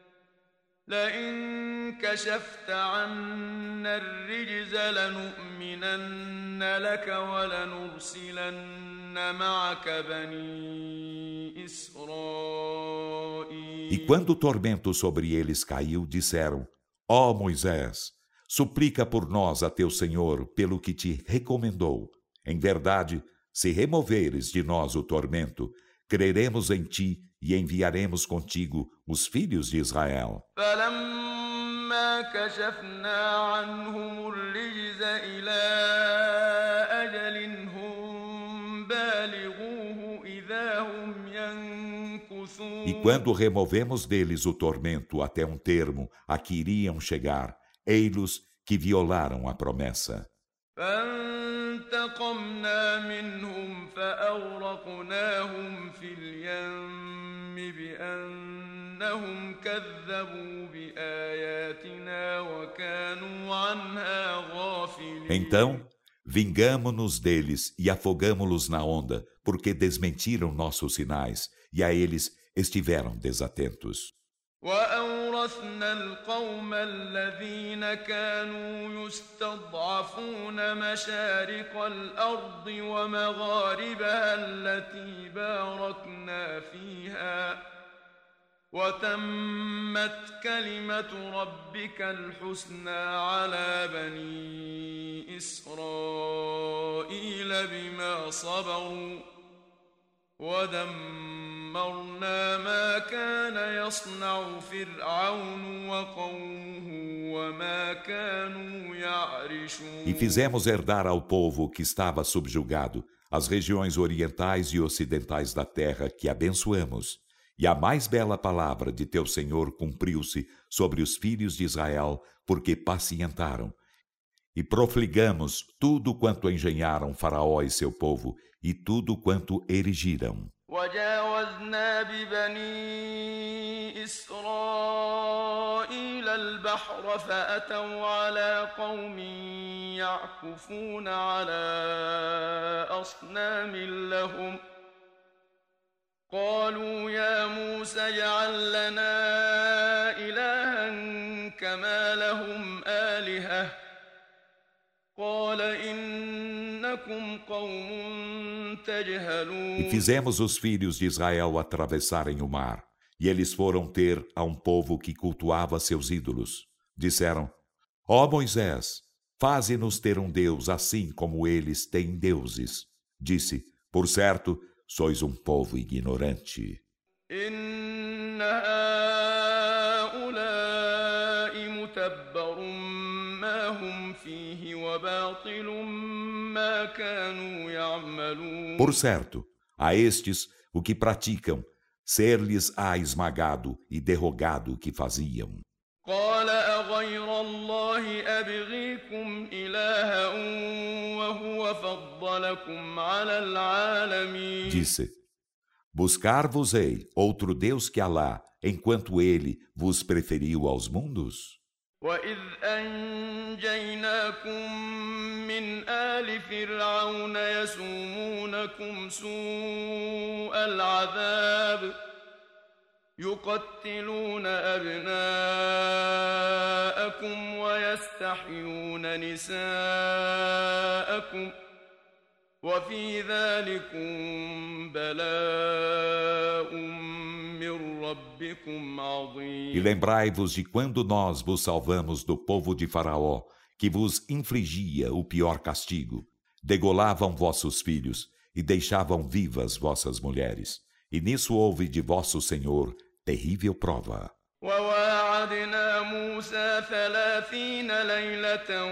لئن كشفت عنا الرجز لنؤمنن لك ولنرسلن معك بني إسرائيل. E quando o tormento sobre eles caiu, disseram: Ó Moisés, suplica por nós a teu Senhor pelo que te recomendou. Em verdade, se removeres de nós o tormento, creremos em ti e enviaremos contigo os filhos de Israel. فلما كشفنا عنهم الرجز إلى أجل هم بالغوه إذا هم ينكثون. E quando removemos deles o tormento até um termo a que iriam chegar, ei-los que violaram a promessa. فانتقمنا منهم فأغرقناهم في اليم بأنهم كذبوا بآياتنا وكانوا عنها غافلين. Então, vingamo-nos deles e afogamo-los na onda, porque desmentiram nossos sinais, e a eles estiveram desatentos. وأورثنا القوم الذين كانوا يستضعفون مشارق الأرض ومغاربها التي باركنا فيها وتمت كلمة ربك الحسنى على بني إسرائيل بما صبروا ودمرنا ما كان يصنع فرعون وقومه وما كانوا يعرشون. E fizemos herdar ao povo que estava subjugado as regiões orientais e ocidentais da terra que abençoamos. E a mais bela palavra de teu Senhor cumpriu-se sobre os filhos de Israel, porque pacientaram. E profligamos tudo quanto engenharam Faraó e seu povo, e tudo quanto erigiram. وجاوزنا ببني إسرائيل البحر فأتوا على قوم يعكفون على أصنام لهم قالوا يا موسى اجعل لنا إلها كما لهم آلهة قال إنكم قوم تجهلون. E fizemos os filhos de Israel atravessarem o mar, e eles foram ter a um povo que cultuava seus ídolos. Disseram: Ó Moisés, faze-nos ter um Deus assim como eles têm deuses. Disse: Por certo, sois um povo ignorante. إن هؤلاء متبر ما هم فيه وباطل ما كانوا يعملون. Por certo, a estes o que praticam, ser-lhes-á esmagado e derrogado o que faziam. قال أغير الله أبغيكم إلها وهو فضلكم على العالمين. Disse: Buscar-vos-ei outro Deus que Alá, enquanto ele vos preferiu aos mundos? وإذ أنجيناكم من آل فرعون يسومونكم سوء العذاب يقتلون أبناءكم ويستحيون نساءكم وفي ذلكم بلاء من ربكم عظيم. E lembrai-vos de quando nós vos salvamos do povo de Faraó, que vos infligia o pior castigo. Degolavam vossos filhos e deixavam vivas vossas mulheres. E nisso houve de vosso Senhor terrível prova. وواعدنا موسى ثلاثين ليلة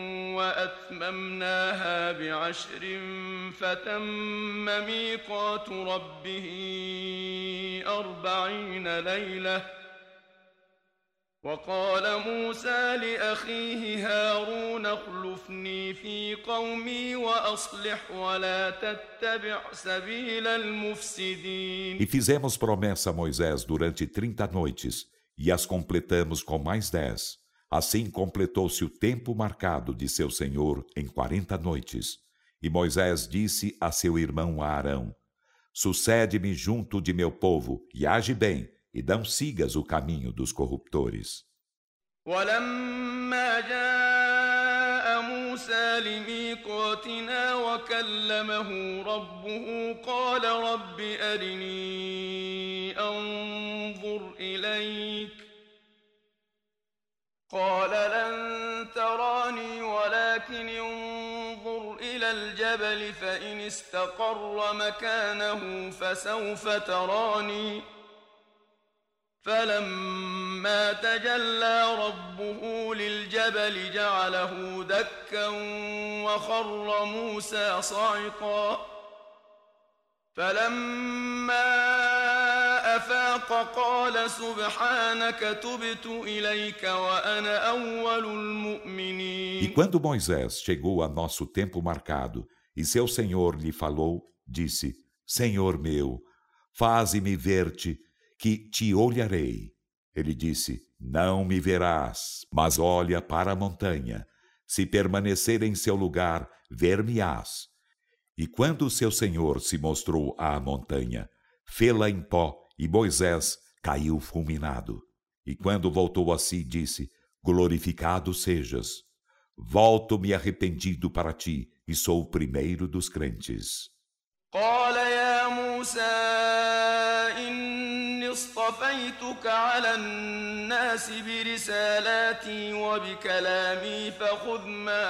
وأتممناها بعشر فتم ميقات ربه أربعين ليلة وقال موسى لأخيه هارون اخلفني في قومي وأصلح ولا تتبع سبيل المفسدين. E fizemos promessa a Moisés durante trinta noites, e as completamos com mais dez. Assim completou-se o tempo marcado de seu Senhor em quarenta noites. E Moisés disse a seu irmão Arão: Sucede-me junto de meu povo, e age bem, e não sigas o caminho dos corruptores. ولما جاء موسى لميقاتنا وكلمه ربه قال رب أرني أنظر إليك قال لن تراني ولكن انظر إلى الجبل فإن استقر مكانه فسوف تراني فلما تجلى ربه للجبل جعله دكا وخر موسى صعقا فلما أفاق قال سبحانك تبت إليك وأنا أول المؤمنين. E quando Moisés chegou a nosso tempo marcado e seu Senhor lhe falou, disse: Senhor meu, faze-me ver-te, que te olharei. Ele disse: Não me verás, mas olha para a montanha. Se permanecer em seu lugar, ver-me-ás. E quando seu Senhor se mostrou à montanha, fê-la em pó, e Moisés caiu fulminado. E quando voltou a si, disse: Glorificado sejas. Volto-me arrependido para ti, e sou o primeiro dos crentes. قال يا موسى إني اصطفيتك على الناس برسالاتي وبكلامي فخذ ما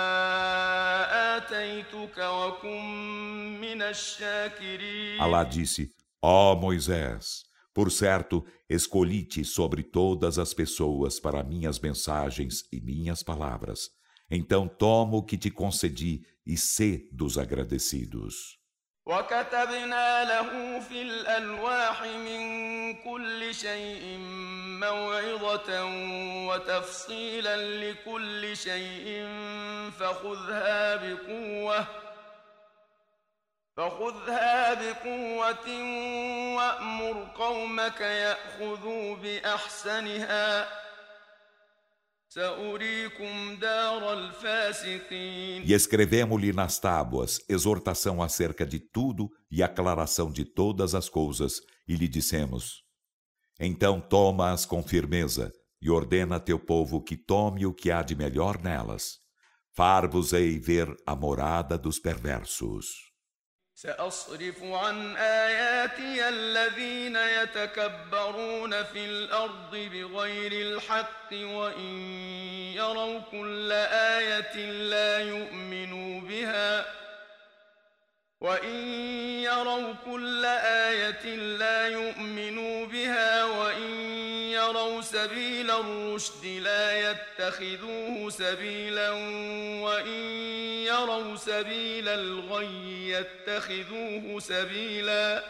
آتيتك وكن من الشاكرين. Alá disse: Ó Moisés, por certo, escolhi-te sobre todas as pessoas para minhas mensagens e minhas palavras. Então toma o que te concedi e sê dos agradecidos. وكتبنا له في الألواح من كل شيء موعظة وتفصيلا لكل شيء فخذها بقوة فخذها بقوة وأمر قومك يأخذوا بأحسنها سأريكم دار الفاسقين. E escrevemos-lhe nas tábuas exortação acerca de tudo e aclaração de todas as coisas, e lhe dissemos: Então toma-as com firmeza e ordena a teu povo que tome o que há de melhor nelas. Far-vos-ei ver a morada dos perversos. سأصرف عن آياتي الذين يتكبرون في الأرض بغير الحق وإن يروا كل آية لا يؤمنوا بها وإن يروا كل آية لا يؤمنوا بها وإن يروا سبيل الرشد لا يتخذوه سبيلا وإن يروا سبيل الغي يتخذوه سبيلا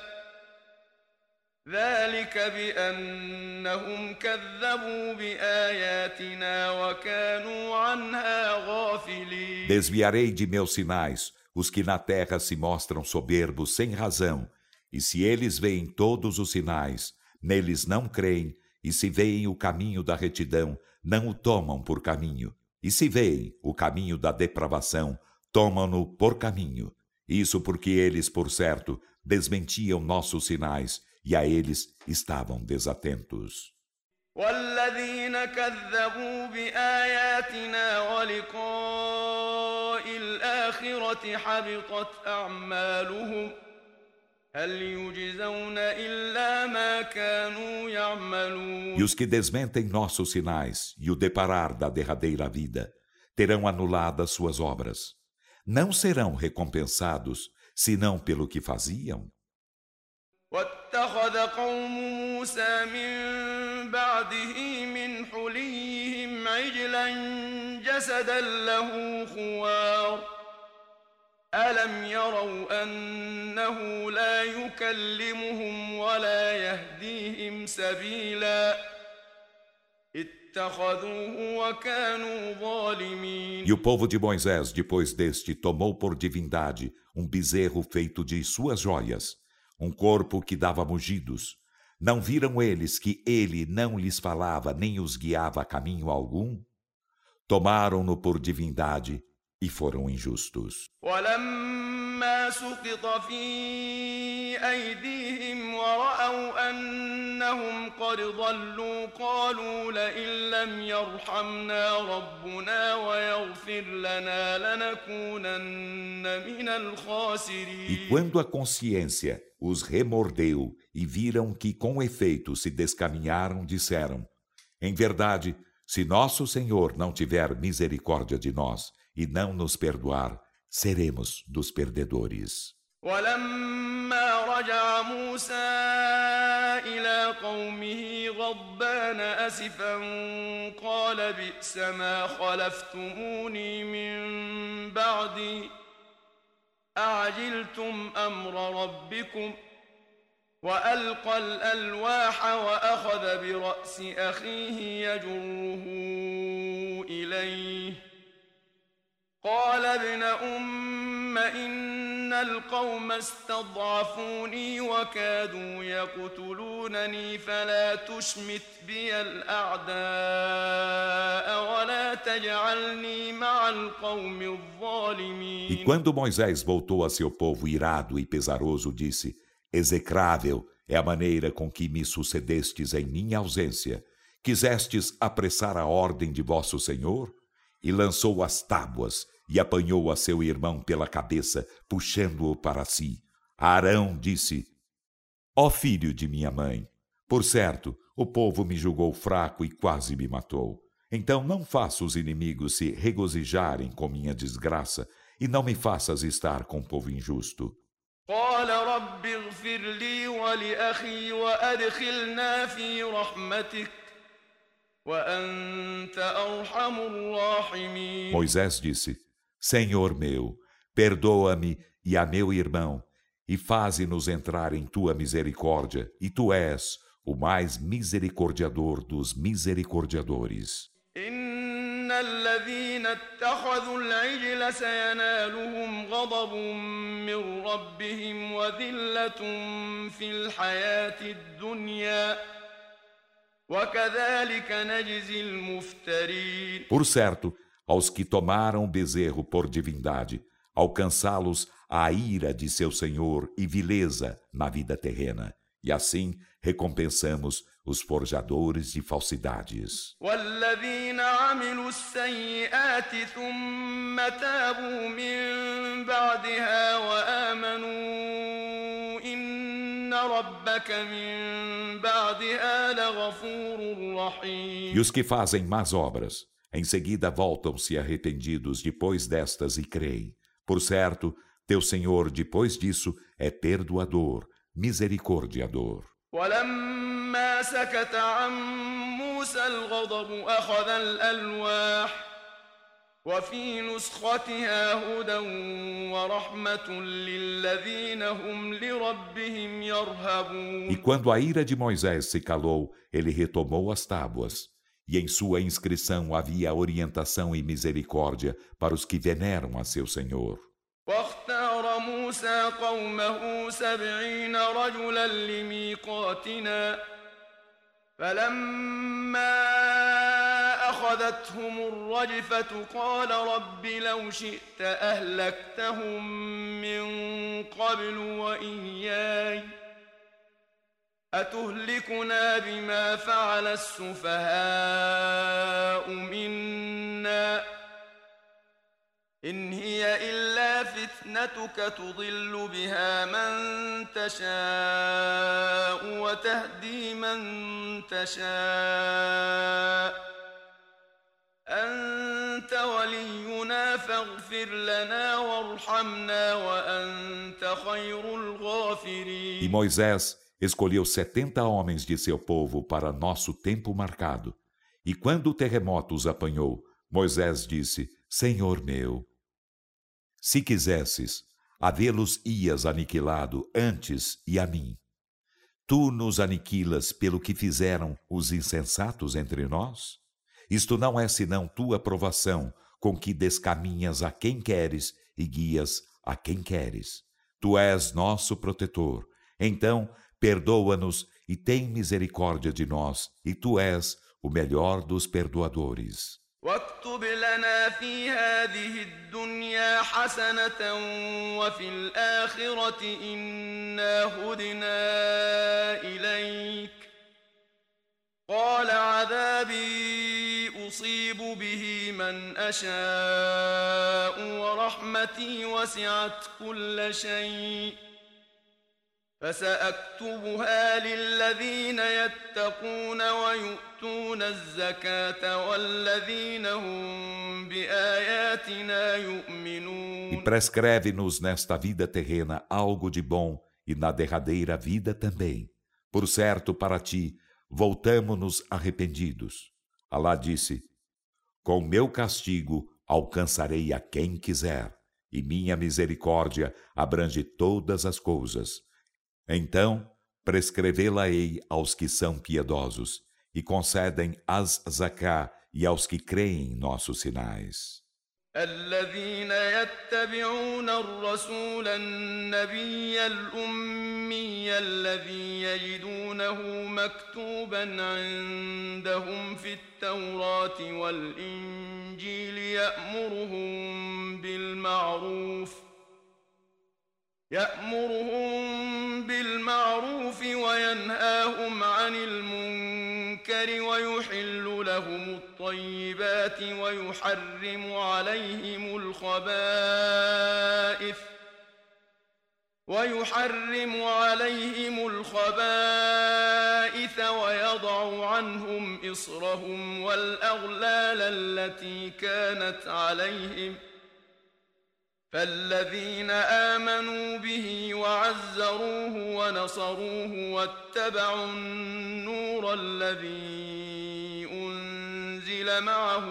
ذلك بأنهم كذبوا بآياتنا وكانوا عنها غافلين. Desviarei de meus sinais os que na terra se mostram soberbos sem razão, e se eles veem todos os sinais, neles não creem, e se veem o caminho da retidão, não o tomam por caminho, e se veem o caminho da depravação, tomam-no por caminho. Isso porque eles, por certo, desmentiam nossos sinais, e a eles estavam desatentos. والذين كذبوا بآياتنا ولقاء الآخرة حبطت أعمالهم هل يجزون إلا ما كانوا يعملون. E os que desmentem nossos sinais e o deparar da derradeira vida terão anuladas suas obras. Não serão recompensados senão pelo que faziam. واتخذ قوم موسى من بعده من حليهم عجلا جسدا له خوار ألم يروا أنه لا يكلمهم ولا يهديهم سبيلا اتخذوه وكانوا ظالمين. E o povo de Moisés, depois deste, tomou por divindade um bezerro feito de suas joias, um corpo que dava mugidos. Não viram eles que ele não lhes falava nem os guiava a caminho algum? Tomaram-no por divindade e foram injustos. ولما سقط في أيديهم ورأوا أنهم قد ضلوا قالوا لئن لم يرحمنا ربنا ويغفر لنا لنكونن من الخاسرين. E quando a consciência os remordeu e viram que com efeito se descaminharam, disseram: Em verdade, se nosso Senhor não tiver misericórdia de nós e não nos perdoar, seremos dos perdedores. ولما رجع موسى إلى قومه غضبان أسفا قال بئس ما خلفتموني من بعدي أعجلتم أمر ربكم وألقى الألواح وأخذ برأس أخيه يجره إليه قال ابن أم إن القوم استضعفوني وكادوا يقتلونني فلا تشمت بي الأعداء ولا تجعلني مع القوم الظالمين. E quando Moisés voltou a seu povo irado e pesaroso, disse: Execrável é a maneira com que me sucedestes em minha ausência. Quisestes apressar a ordem de vosso Senhor? E lançou as tábuas e apanhou a seu irmão pela cabeça, puxando-o para si. Arão disse: Ó filho de minha mãe, por certo, o povo me julgou fraco e quase me matou. Então não faça os inimigos se regozijarem com minha desgraça e não me faças estar com o povo injusto. قال رب اغفر لي ولأخي وأدخلنا في رحمتك وأنت أرحم الراحمين. Moisés disse: Senhor meu, perdoa-me e a meu irmão, e faze-nos entrar em tua misericórdia, e tu és o mais misericordiador dos misericordiadores. إن الذين اتخذوا العجل سينالهم غضب من ربهم وذلة في الحياة الدنيا وكذلك نجزي المفترين. Por certo, aos que tomaram o bezerro por divindade, alcançá-los a ira de seu Senhor e vileza na vida terrena, e assim recompensamos os forjadores de falsidades. والذين عملوا السيئات ثم تابوا من بعدها وآمنوا إن ربك من بعدها لغفور رحيم. E os que fazem más obras, em seguida voltam-se arrependidos depois destas e creem. Por certo, teu Senhor depois disso é perdoador, misericordiador. ولما سكت عن موسى الغضب أخذ الألواح وفي نسختها هدى ورحمة للذين هم لربهم يرهبون. E quando a ira de Moisés se calou, ele retomou as tábuas, e em sua inscrição havia orientação e misericórdia para os que veneram a seu Senhor. واختار موسى قومه سبعين رجلا لميقاتنا فلما أخذتهم الرجفة قال رب لو شئت أهلكتهم من قبل وإياي أتهلكنا بما فعل السفهاء منا إن هي إلا فتنتك تضل بها من تشاء وتهدي من تشاء أنت ولينا فاغفر لنا وارحمنا وأنت خير الغافرين. E Moisés escolheu setenta homens de seu povo para nosso tempo marcado. E quando o terremoto os apanhou, Moisés disse: Senhor meu, se quisesses, havê-los-ias aniquilado antes e a mim. Tu nos aniquilas pelo que fizeram os insensatos entre nós? Isto não é senão tua provação, com que descaminhas a quem queres e guias a quem queres. Tu és nosso protetor. Então, perdoa-nos e tem misericórdia de nós, e tu és o melhor dos perdoadores. واكتب لنا في هذه الدنيا حسنة وفي الآخرة إنا هدنا إليك قال عذابي أصيب به من أشاء ورحمتي وسعت كل شيء فسأكتبها للذين يتقون ويؤتون الزكاة والذين هم بآياتنا يؤمنون. E prescreve-nos nesta vida terrena algo de bom e na derradeira vida também. Por certo, para ti, voltamo-nos arrependidos. Alá disse: com meu castigo alcançarei a quem quiser, e minha misericórdia abrange todas as coisas. Então, prescrevê-la-ei aos que são piedosos, e concedem as zaká e aos que creem em nossos sinais. الذين يتبعون الرسول النبي الأمي الذي يجدونه مكتوبا عندهم في التوراة والإنجيل يأمرهم بالمعروف يأمرهم بالمعروف وينهاهم عن المنكر ويحل لهم الطيبات ويحرم عليهم الخبائث ويحرم عليهم الخبائث ويضع عنهم إصرهم والأغلال التي كانت عليهم فالذين آمنوا به وعزروه ونصروه واتبعوا النور الذي أنزل معه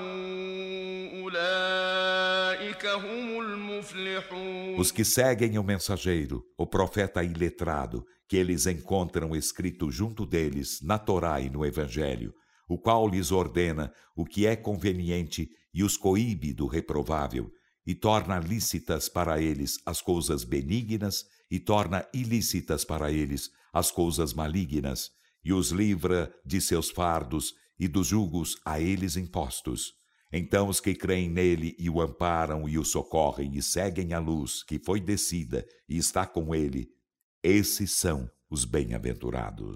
أولئك هم المفلحون. Os que seguem o mensageiro, o profeta iletrado, que eles encontram escrito junto deles na Torá e no Evangelho, o qual lhes ordena o que é conveniente e os coíbe do reprovável, e torna lícitas para eles as coisas benignas e torna ilícitas para eles as coisas malignas, e os livra de seus fardos e dos julgos a eles impostos. Então os que creem nele e o amparam e o socorrem e seguem a luz que foi descida e está com ele, esses são os bem-aventurados.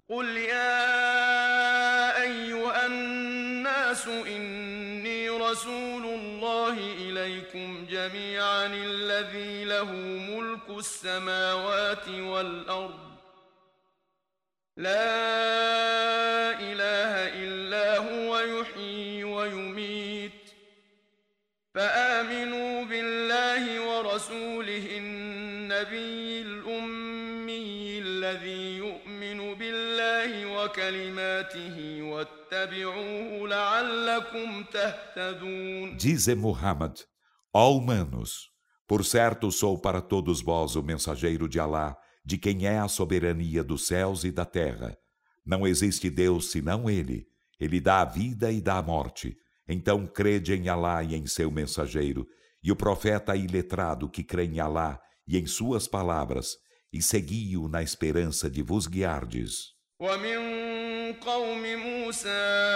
رسول الله إليكم جميعا الذي له ملك السماوات والأرض لا إله إلا هو يحيي ويميت فآمنوا بالله ورسوله النبي الأمي الذي يؤمن بالله وكلماته واتبعوه لعلكم تهتدون. Dize Muhammad, ó humanos, por certo sou para todos vós o mensageiro de Alá, de quem é a soberania dos céus e da terra. Não existe Deus senão Ele. Ele dá a vida e dá a morte. Então crede em Alá e em seu mensageiro, e o profeta iletrado que crê em Alá e em suas palavras, e segui-o na esperança de vos guiardes. ومن قوم موسى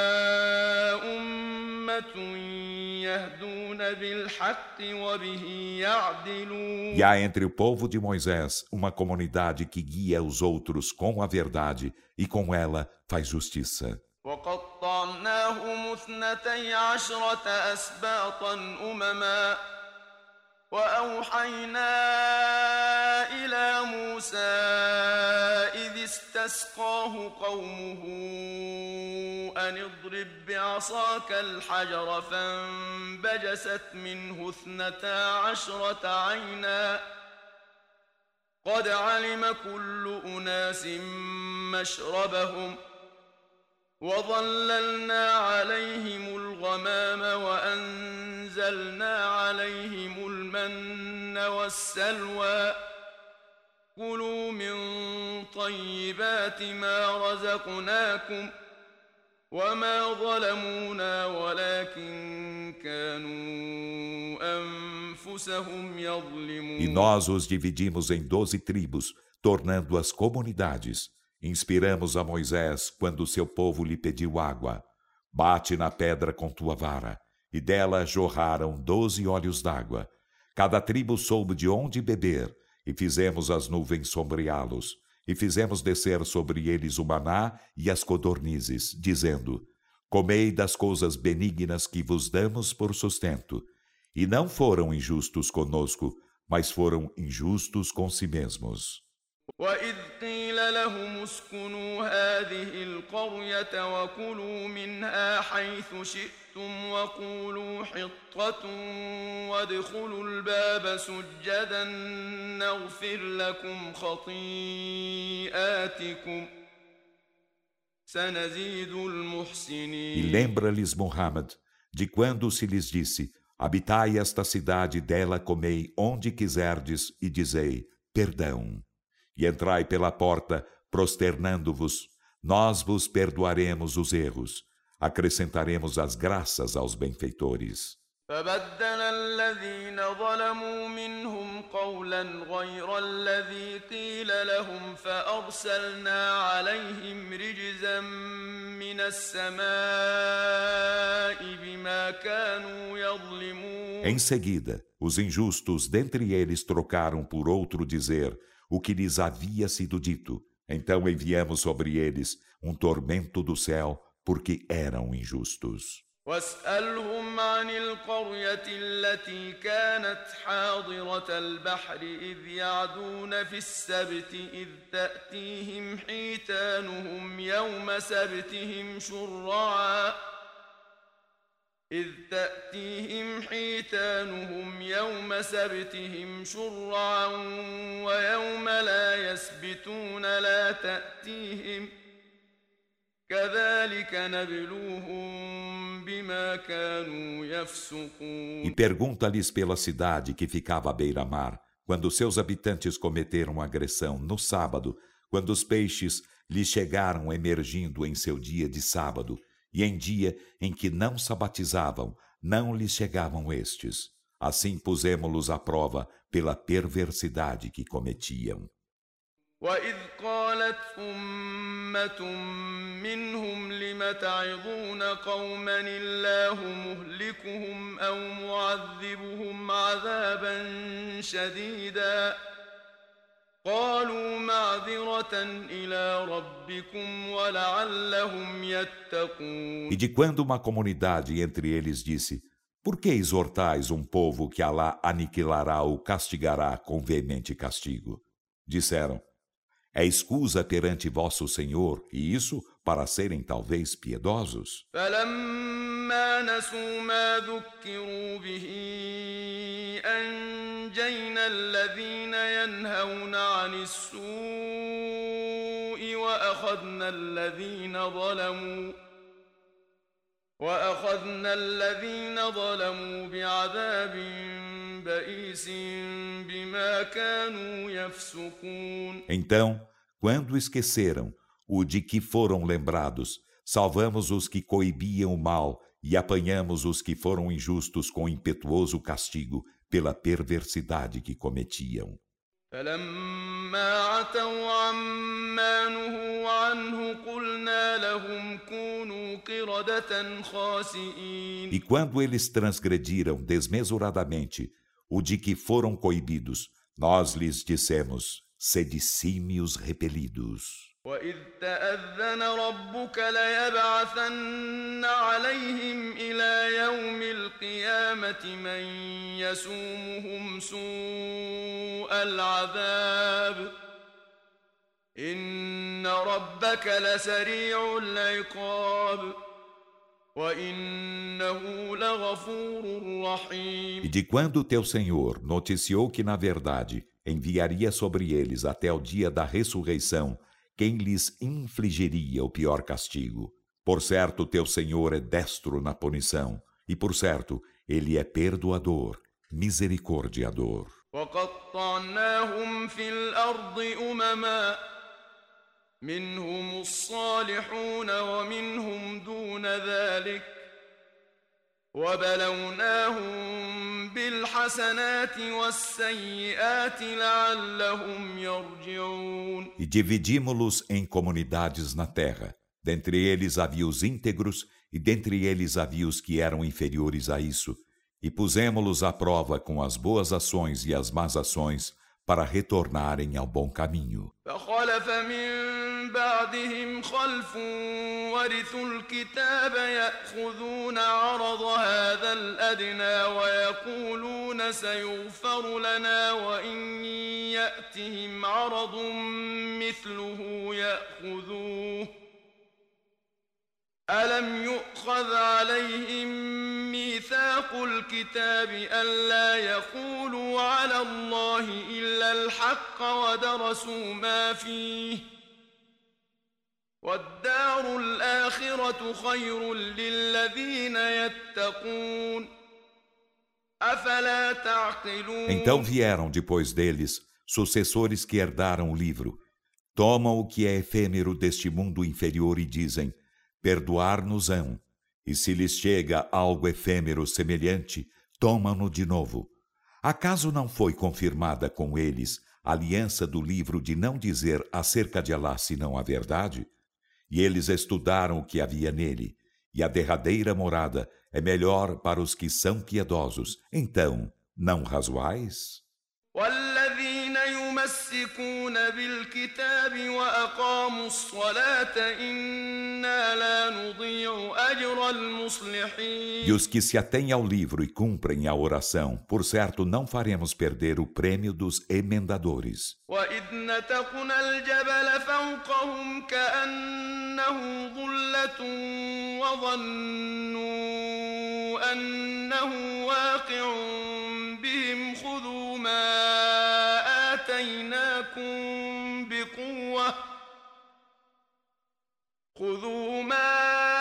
أمة يهدون بالحق وبه يعدلون. E há entre o povo de Moisés uma comunidade que guia os outros com a verdade e com ela faz justiça. وقطعناهم اثنتي عشرة أسباطا أمما وأوحينا إلى موسى إذ استسقاه قومه أن اضرب بعصاك الحجر فانبجست منه اثنتا عشرة عينا قد علم كل أناس مشربهم وظللنا عليهم الغمام وأنزلنا عليهم المن والسلوى كلوا من طيبات ما رزقناكم وما ظلمونا ولكن كانوا أنفسهم يظلمون. E nós os dividimos em doze tribos, tornando-as comunidades. Inspiramos a Moisés quando seu povo lhe pediu água. Bate na pedra com tua vara. E dela jorraram doze olhos d'água. Cada tribo soube de onde beber. E fizemos as nuvens sombreá-los. E fizemos descer sobre eles o maná e as codornizes, dizendo: comei das coisas benignas que vos damos por sustento. E não foram injustos conosco, mas foram injustos com si mesmos. وإذ قيل لهم اسكنوا هذه القرية وكلوا منها حيث شئتم وقولوا حطة وادخلوا الباب سجدا نغفر لكم خطيئاتكم سنزيد المحسنين. E lembra-lhes Muhammad de quando se lhes disse: habitai esta cidade, dela comei onde quiserdes e dizei: perdão. E entrai pela porta prosternando-vos, nós vos perdoaremos os erros, acrescentaremos as graças aos benfeitores. فبدل الذين ظلموا منهم قولا غير الذي قيل لهم فأرسلنا عليهم رجزا من السماء بما كانوا يظلمون. Em seguida, os injustos dentre eles trocaram por outro dizer o que lhes havia sido dito. Então enviamos sobre eles um tormento do céu, porque eram injustos. واسألهم عن القرية التي كانت حاضرة البحر إذ يعدون في السبت إذ تأتيهم حيتانهم يوم سبتهم شرعا إذ تأتيهم حيتانهم يوم سبتهم شرعا ويوم لا يسبتون لا تأتيهم كذلك نبلوهم بما كانوا يفسقون. E pergunta-lhes pela cidade que ficava à beira-mar, quando seus habitantes cometeram agressão no sábado, quando os peixes lhes chegaram emergindo em seu dia de sábado, e em dia em que não sabatizavam, não lhes chegavam estes. Assim pusemo-los à prova pela perversidade que cometiam. وإذ قالت أمة منهم لم تعظون قوما الله مهلكهم أو معذبهم عذابا شديدا قالوا معذرة إلى ربكم ولعلهم يتقون. E de quando uma comunidade entre eles disse: Por que exortais um povo que Alá aniquilará ou castigará com veemente castigo? Disseram: É escusa perante vosso Senhor, e isso para serem talvez piedosos. فلما نسوا ما ذكروا به أنجينا الذين ينهون عن السوء وأخذنا الذين ظلموا وأخذنا الذين ظلموا بعذاب بئيس بما كانوا يفسقون. Então, quando esqueceram o de que foram lembrados, salvamos os que coibiam o mal e apanhamos os que foram injustos com impetuoso castigo pela perversidade que cometiam. فلما عتوا عما نهوا عنه قلنا لهم كونوا قردة خاسئين. E quando eles transgrediram desmesuradamente o de que foram coibidos, nós lhes dissemos: sede símios repelidos. وإذ تأذن ربك ليبعثن عليهم إلى يوم القيامة من يسومهم سوء العذاب إن ربك لسريع العقاب وإنه لغفور رحيم. E de quando teu Senhor noticiou que na verdade enviaria sobre eles até o dia da ressurreição quem lhes infligiria o pior castigo. Por certo, teu Senhor é destro na punição, e por certo, ele é perdoador, misericordiador. وقطعناهم في الأرض أمما منهم الصالحون ومنهم دون ذلك وبلوناهم بالحسنات والسيئات لعلهم يرجعون. E dividimos-los em comunidades na terra. Dentre eles havia os íntegros, e dentre eles havia os que eram inferiores a isso. E pusemo-los à prova com as boas ações e as más ações, para retornarem ao bom caminho. فخلف من بعدهم خلف ورثوا الكتاب يأخذون عرض هذا الأدنى ويقولون سيغفر لنا وإن يأتهم عرض مثله يأخذوه ألم يؤخذ عليهم ميثاق الكتاب ألا يقولوا على الله إلا الحق ودرسوا ما فيه والدار الآخرة خير للذين يتقون أفلا تعقلون. Então vieram depois deles sucessores que herdaram o livro. Tomam o que é efêmero deste mundo inferior e dizem: perdoar-nos-ão. E se lhes chega algo efêmero semelhante, tomam-no de novo. Acaso não foi confirmada com eles a aliança do livro de não dizer acerca de Alá senão a verdade? E eles estudaram o que havia nele, e a derradeira morada é melhor para os que são piedosos. Então, não razoais? والذين يمسكون بالكتاب وأقاموا الصلاة إنا لا نضيع أجر المصلحين. E os que se atêm ao livro e cumprem a oração, por certo não faremos perder o prêmio dos emendadores. وإذ نتقنا الجبل فوقهم كأنه ظلة وظنوا أنه واقع بهم خذوا ما آتيناكم بقوة خذوا ما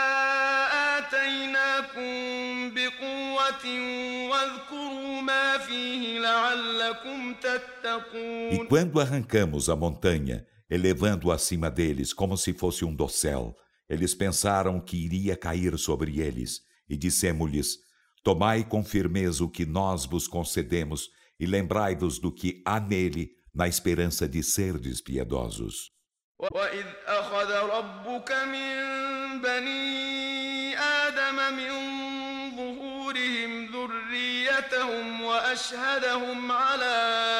آتيناكم بقوة واذكروا ما فيه لعلكم تتقون. E quando arrancamos a montanha, elevando acima deles como se fosse um dossel, eles pensaram que iria cair sobre eles, e dissemos-lhes: tomai com firmeza o que nós vos concedemos, e lembrai-vos do que há nele, na esperança de serdes piedosos. وإذ أخذ ربك من بني آدم من ظهورهم ذريتهم وأشهدهم على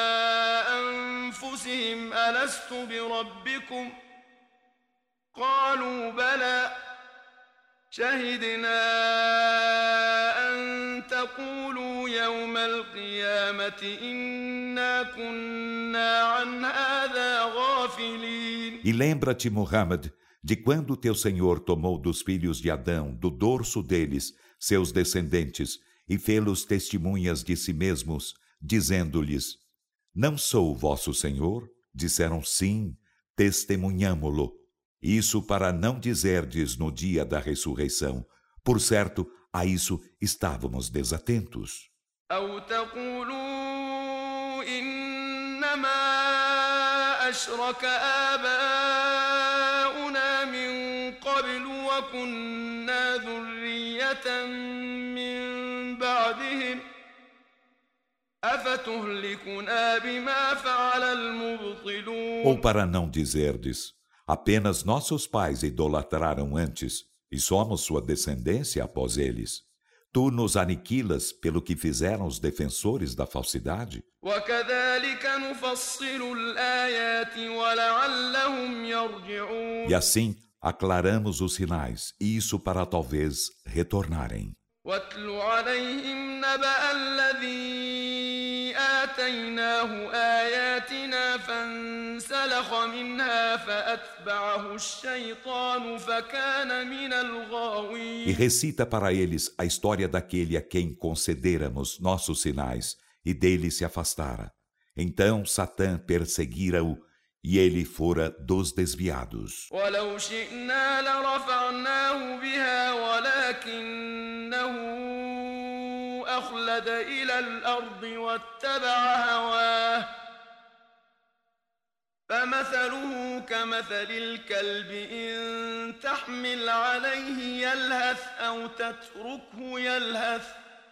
أنفسهم ألست بربكم قالوا بلى شهدنا أن تقولوا يوم القيامة إنا كنا عن هذا غافلين. E lembra-te, Muhammad, de quando teu Senhor tomou dos filhos de Adão, do dorso deles, seus descendentes, e fê-los testemunhas de si mesmos, dizendo-lhes: não sou vosso Senhor? Disseram: sim, testemunhamo-lo. Isso para não dizerdes no dia da ressurreição: por certo, a isso estávamos desatentos. أو تقولوا إنما أشرك آباؤنا من قبل وكنا ذرية من بعدهم أفتهلكنا بما فعل المبطلون. Ou para não dizerdes: apenas nossos pais idolatraram antes, e somos sua descendência após eles. Tu nos aniquilas pelo que fizeram os defensores da falsidade? E assim aclaramos os sinais, e isso para talvez retornarem. واتل عليهم نبأ الذي آتيناه آياتنا فانسلخ منها فأتبعه الشيطان فكان من الغاوين. E recita para eles a história daquele a quem concederamos nossos sinais e dele se afastara. Então Satã perseguira-o e ele fora dos desviados. ولو شئنا لرفعناه بها ولكنه أخلد إلى الأرض واتبع هواه فمثله كمثل الكلب إن تحمل عليه يلهث أو تتركه يلهث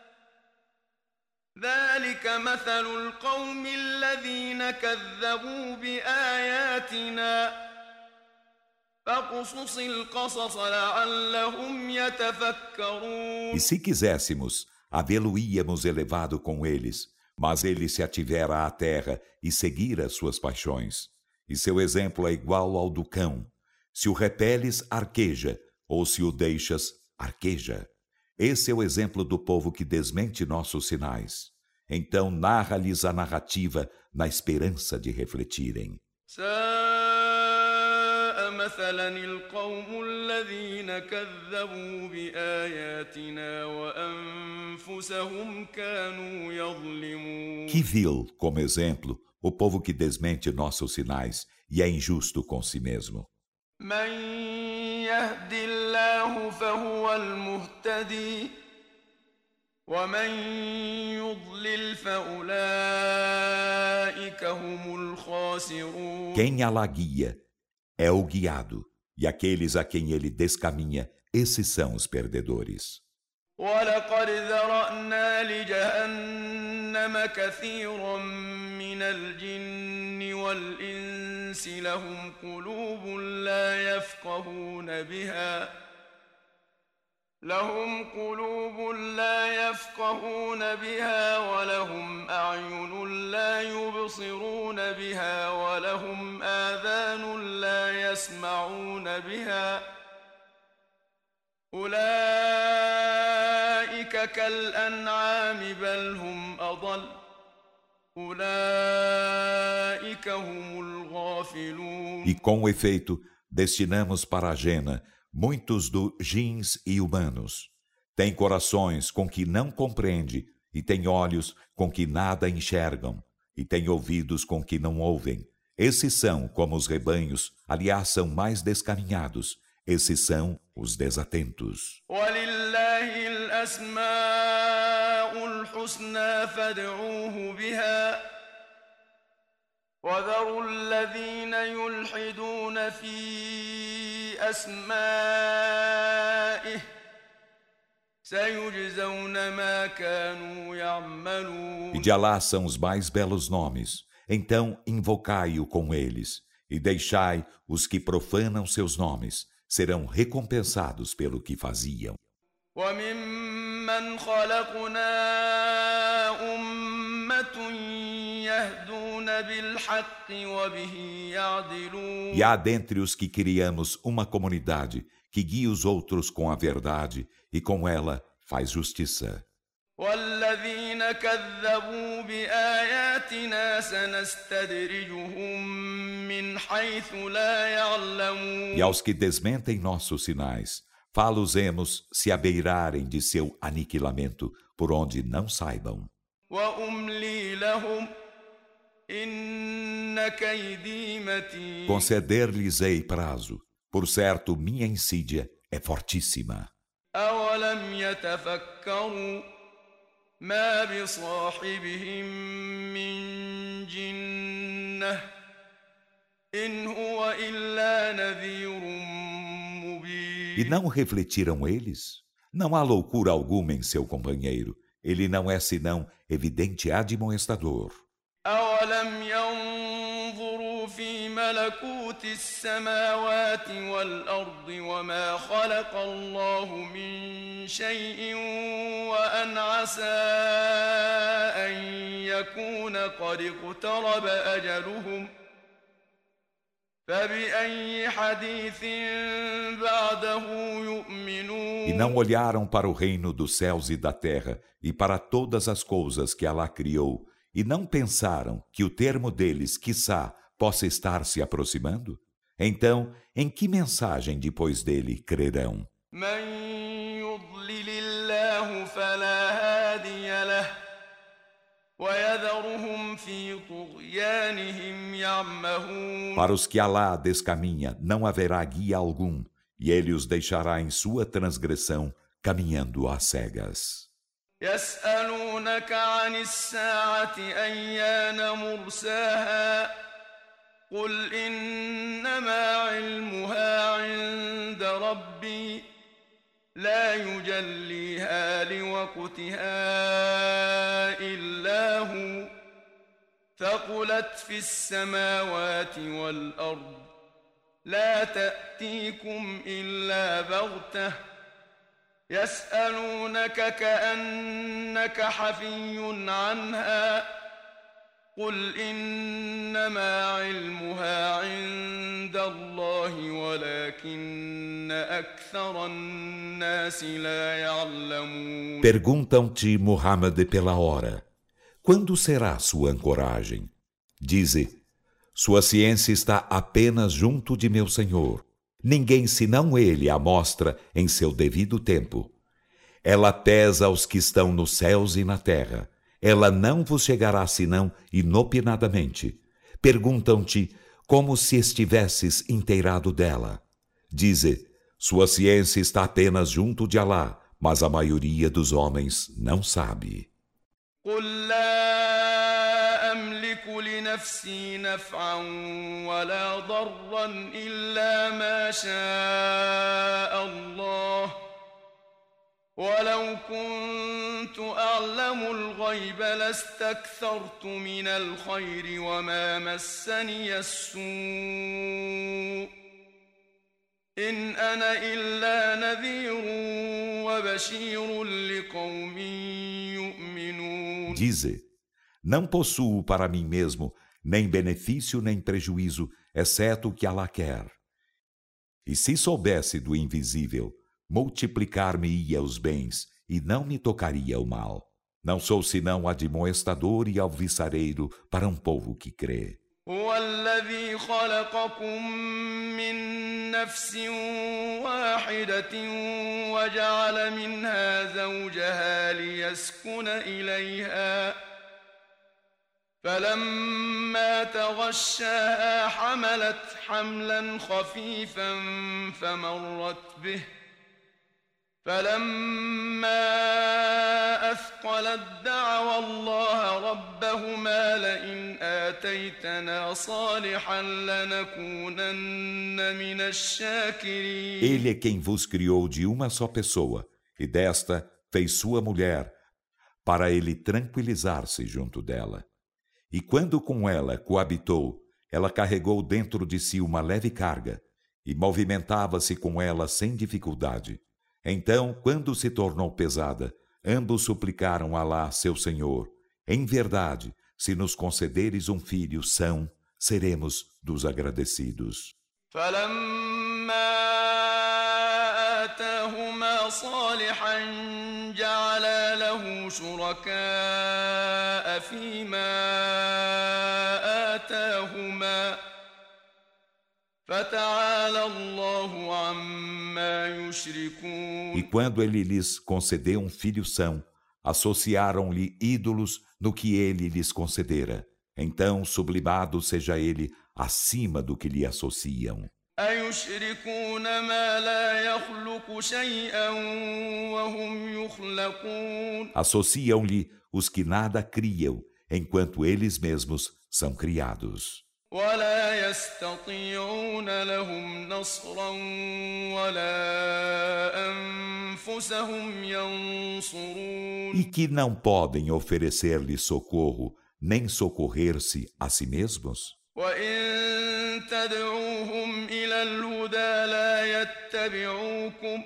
ذلك مثل القوم الذين كذبوا بآياتنا فاقصص القصص لعلهم يتفكرون. E se quiséssemos, havê-lo-íamos elevado com eles, mas ele se ativera à terra e seguira suas paixões. E seu exemplo é igual ao do cão. Se o repeles, arqueja, ou se o deixas, arqueja. Esse é o exemplo do povo que desmente nossos sinais. Então narra-lhes a narrativa na esperança de refletirem. ساء مثلا القوم الذين كذبوا بآياتنا وأنفسهم كانوا يظلمون. Que vil, como exemplo, o povo que desmente nossos sinais e é injusto com si mesmo. من يهد الله فهو المهتدي ومن يضلل فأولئك هم الخاسرون. Quem Alá guia, é o guiado, e aqueles a quem ele descaminha, esses são os perdedores. ولقد ذرأنا لجهنم كثيرا من الجن والإنس لهم قلوب لا يفقهون بها لهم قلوب لا يفقهون بها ولهم أعين لا يبصرون بها ولهم آذان لا يسمعون بها أولئك كالأنعام بل هم أضل أولئك هم الغافلون. E com efeito, destinamos para a Jena muitos dos jins e humanos. Tem corações com que não compreende, e tem olhos com que nada enxergam, e tem ouvidos com que não ouvem. Esses são como os rebanhos, aliás, são mais descaminhados. Esses são os desatentos. وَلِلَّهِ الْأَسْمَاءُ الْحُسْنَى فَادْعُوهُ بِهَا وَذَرُوا الَّذِينَ يُلْحِدُونَ فِي أَسْمَائِهِ سَيُجْزَوْنَ مَا كَانُوا يَعْمَلُونَ. E de Alá são os mais belos nomes. Então invocai-o com eles, e deixai os que profanam seus nomes. Serão recompensados pelo que faziam. وَمِمَّنْ خَلَقْنَا أُمَّةٌ يَهْدُونَ بِالْحَقِّ وَبِهِ يَعْدِلُونَ. E há dentre os que criamos uma comunidade que guia os outros com a verdade e com ela faz justiça. وَالَّذِينَ كَذَّبُوا بِآيَاتِنَا سَنَسْتَدْرِجُهُم مِّنْ حَيْثُ لَا يَعْلَمُونَ. E aos que desmentem nossos sinais, fá-los-emos se abeirarem de seu aniquilamento, por onde não saibam. وَأُمْلِي لَهُمْ إِنَّ كَيْدِي مَتِينٌ. Conceder-lhes-ei prazo, por certo minha insídia é fortíssima. أَوَلَمْ يَتَفَكَّرُوا ما بصاحبهم من جنة إن هو إلا نذير مبين. E não refletiram eles? Não há loucura alguma em seu companheiro. Ele não é senão evidente admoestador. أَوَلَمْ يَنظُرُوا فِي مَلَكُوتِ السَّمَاوَاتِ وَالْأَرْضِ وَمَا خَلَقَ اللَّهُ مِنْ شَيْءٍ وَأَنْ عَسَى أَنْ يَكُونَ قَدِ اقْتَرَبَ أَجَلُهُمْ فَبِأَيِّ حَدِيثٍ بَعْدَهُ يُؤْمِنُونَ. E não olharam para o reino dos céus e da terra e para todas as coisas que Alá criou, e não pensaram que o termo deles, quiçá, possa estar se aproximando? Então, em que mensagem depois dele crerão? مَنْ يُضْلِلِ اللَّهُ فَلَا هَادِيَ لَهُ وَيَذَرُهُمْ فِي طُغْيَانِهِمْ يَعْمَهُونَ. Para os que Alá descaminha, não haverá guia algum, e ele os deixará em sua transgressão, caminhando às cegas. يسألونك عن الساعة أيان مرساها قل إنما علمها عند ربي لا يجليها لوقتها إلا هو ثقلت في السماوات والأرض لا تأتيكم إلا بغتة يسألونك كأنك حفي عنها قل إنما علمها عند الله ولكن أكثر الناس لا يعلمون. Perguntam-te, Muhammad, pela hora. Quando será sua ancoragem? Dize, sua ciência está apenas junto de meu Senhor. Ninguém senão ele a mostra em seu devido tempo. Ela pesa aos que estão nos céus e na terra. Ela não vos chegará senão inopinadamente. Perguntam-te como se estivesses inteirado dela. Dize, sua ciência está apenas junto de Alá, mas a maioria dos homens não sabe. قل لا أملك بنفسي نفعا ولا ضرا إلا ما شاء الله ولو كنت أعلم الغيب لاستكثرت من الخير وما مسني السوء إن أنا إلا نذير وبشير لقوم يؤمنون. Dize, não possuo para mim mesmo nem benefício nem prejuízo, exceto o que Allah quer. E se soubesse do invisível, multiplicar-me-ia os bens e não me tocaria o mal. Não sou senão admoestador e alvissareiro para um povo que crê. هو الذي خلقكم من نفس واحدة وجعل منها زوجها ليسكن إليها فلما تغشاها حملت حملا خفيفا فمرت به فلما أثقلت دعوا الله ربهما لئن آتيتنا صالحا لنكونن من الشاكرين. Ele é quem vos criou de uma só pessoa, e desta fez sua mulher, para ele tranquilizar-se junto dela. E quando com ela coabitou, ela carregou dentro de si uma leve carga, e movimentava-se com ela sem dificuldade. Então, quando se tornou pesada, ambos suplicaram a Alá, seu Senhor: em verdade, se nos concederes um filho são, seremos dos agradecidos. آتاهما صالحا جعلا له شركاء فيما آتاهما فتعالى الله عما يشركون. E quando ele lhes concedeu um filho são, associaram-lhe ídolos no que ele lhes concedera. Então, sublimado seja ele acima do que lhe associam. أيشركون ما لا يخلق شيئا وهم يخلقون. Associam-lhe os que nada criam, enquanto eles mesmos são criados. ولا يستطيعون لهم نصرا ولا أنفسهم ينصرون. E que não podem oferecer-lhe socorro, nem socorrer-se a si mesmos? وإن تدعوهم إلى الهدى لا يتبعوكم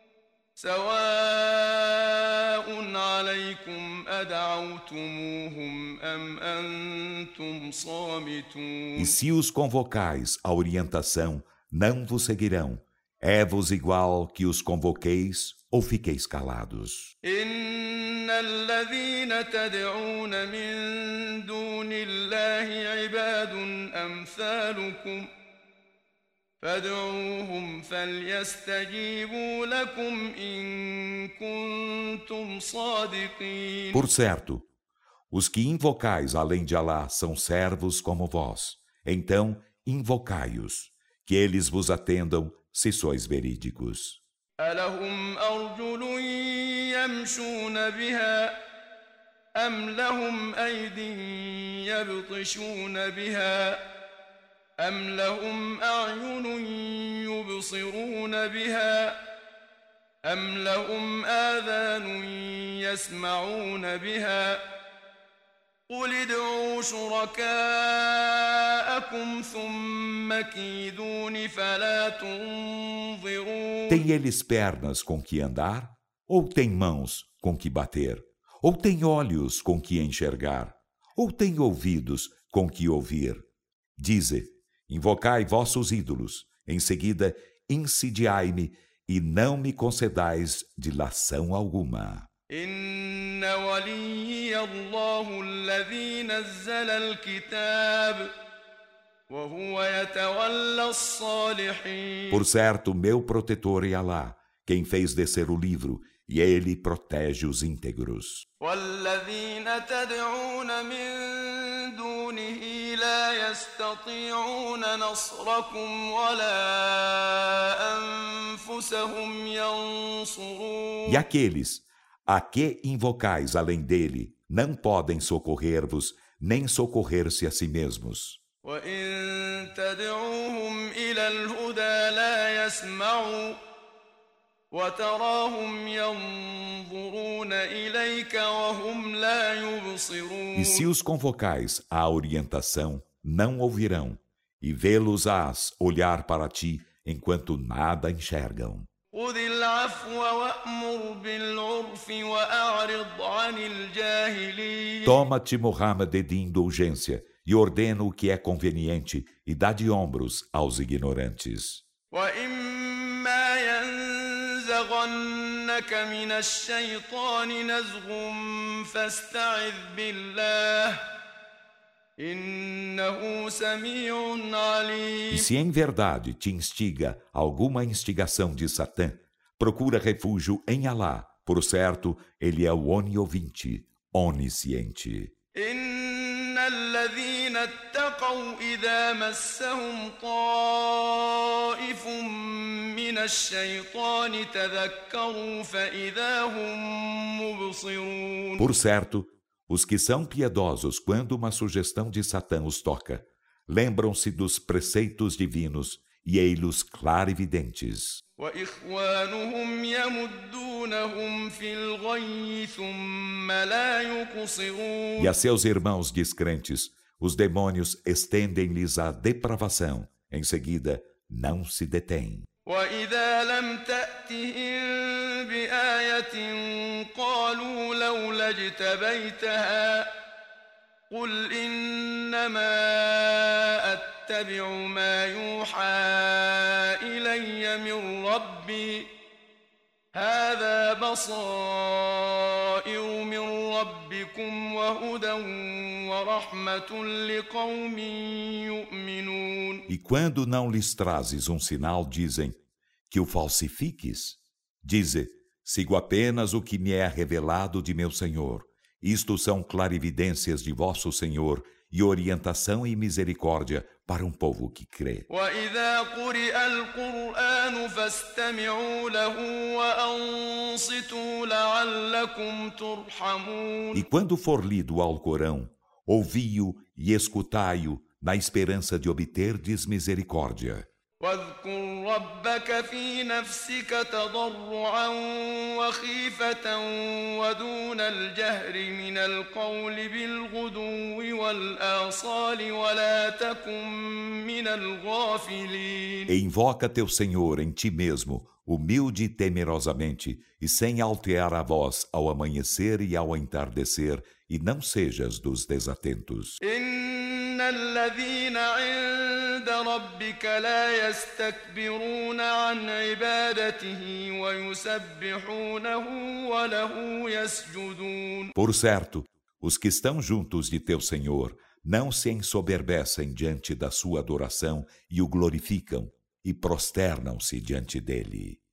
سواء عليكم أدعوتموهم أم أنتم صامتون. E se os convocais à orientação, não vos seguirão. É-vos igual que os convoqueis ou fiqueis calados. إن الذين تدعون من دون الله عباد أمثالكم فادعوهم فليستجيبوا لكم إن كنتم صادقين. Por certo, os que invocais além de Alá são servos como vós. Então, invocai-os, que eles vos atendam se sois verídicos. ألهم أرجل يمشون بها أم لهم أيد يبطشون بها أم لهم أعين يبصرون بها أم لهم آذان يسمعون بها قل ادعوا شركاءكم ثم كيدون فلا تنظرون. Tem eles pernas com que andar? Ou tem mãos com que bater? Ou tem olhos com que enxergar? Ou tem ouvidos com que ouvir? Dize, invocai vossos ídolos, em seguida insidiai-me e não me concedais dilação alguma. إن وليي الله الذي نزل الكتاب وهو يتولى الصالحين. Por certo, meu protetor é Alá, quem fez descer o livro, e ele protege os íntegros. والذين تدعون من دونه لا يستطيعون نصركم ولا أنفسهم ينصرون. E aqueles a que invocais além dele não podem socorrer-vos, nem socorrer-se a si mesmos. وإن تدعوهم إلى الهدى لا يسمعوا وتراهم ينظرون إليك وهم لا يبصرون. E se os convocais à orientação, não ouvirão, e vê-los-ás olhar para ti enquanto nada enxergam. خذ العفو وأمر بالعرف وأعرض عن الجاهلين. Toma-te, Muhammad, de indulgência, e ordena o que é conveniente, e dá de ombros aos ignorantes. وإما ينزغنك من الشيطان نزغ فاستعذ بالله إنه سميع عليم. E se em verdade te instiga alguma instigação de Satã, procura refúgio em Alá. Por certo, ele é o oniovinte, onisciente. إن الذين اتقوا إذا مسهم طائف من الشيطان تذكروا فإذا هم مبصرون. Por certo, os que são piedosos quando uma sugestão de Satã os toca, lembram-se dos preceitos divinos e ei-los clarividentes. وإخوانهم يمدونهم في الغي ثم لا يقصرون. E a seus irmãos descrentes, os demônios estendem-lhes a depravação. Em seguida, não se detêm. وإذا لم تأتهم بآية قالوا لولا اجتبيتها قل إنما أتبع ما يوحى إلي من ربي هذا بصائر من ربكم وهدى ورحمة لقوم يؤمنون. E quando não lhes trazes um sinal, dizem que o falsifiques. Dize, sigo apenas o que me é revelado de meu Senhor. Isto são clarividências de vosso Senhor e orientação e misericórdia para um povo que crê. وإذا قرئ القرآن فاستمعوا له وأنصتوا لعلكم ترحمون. E quando for lido o Alcorão, ouvi-o e escutai-o na esperança de obterdes misericórdia. واذكر ربك في نفسك تضرعا وخيفة ودون الجهر من القول بالغدو والآصال ولا تكن من الغافلين. E invoca teu Senhor em ti mesmo, humilde e temerosamente, e sem altear a voz ao amanhecer e ao entardecer, e não sejas dos desatentos. إن الذين عند ربك لا يستكبرون عن عبادته ويسبحونه وله يسجدون. Por certo, os que estão juntos de teu Senhor não se ensoberbecem diante da sua adoração e o glorificam e prosternam-se diante dele.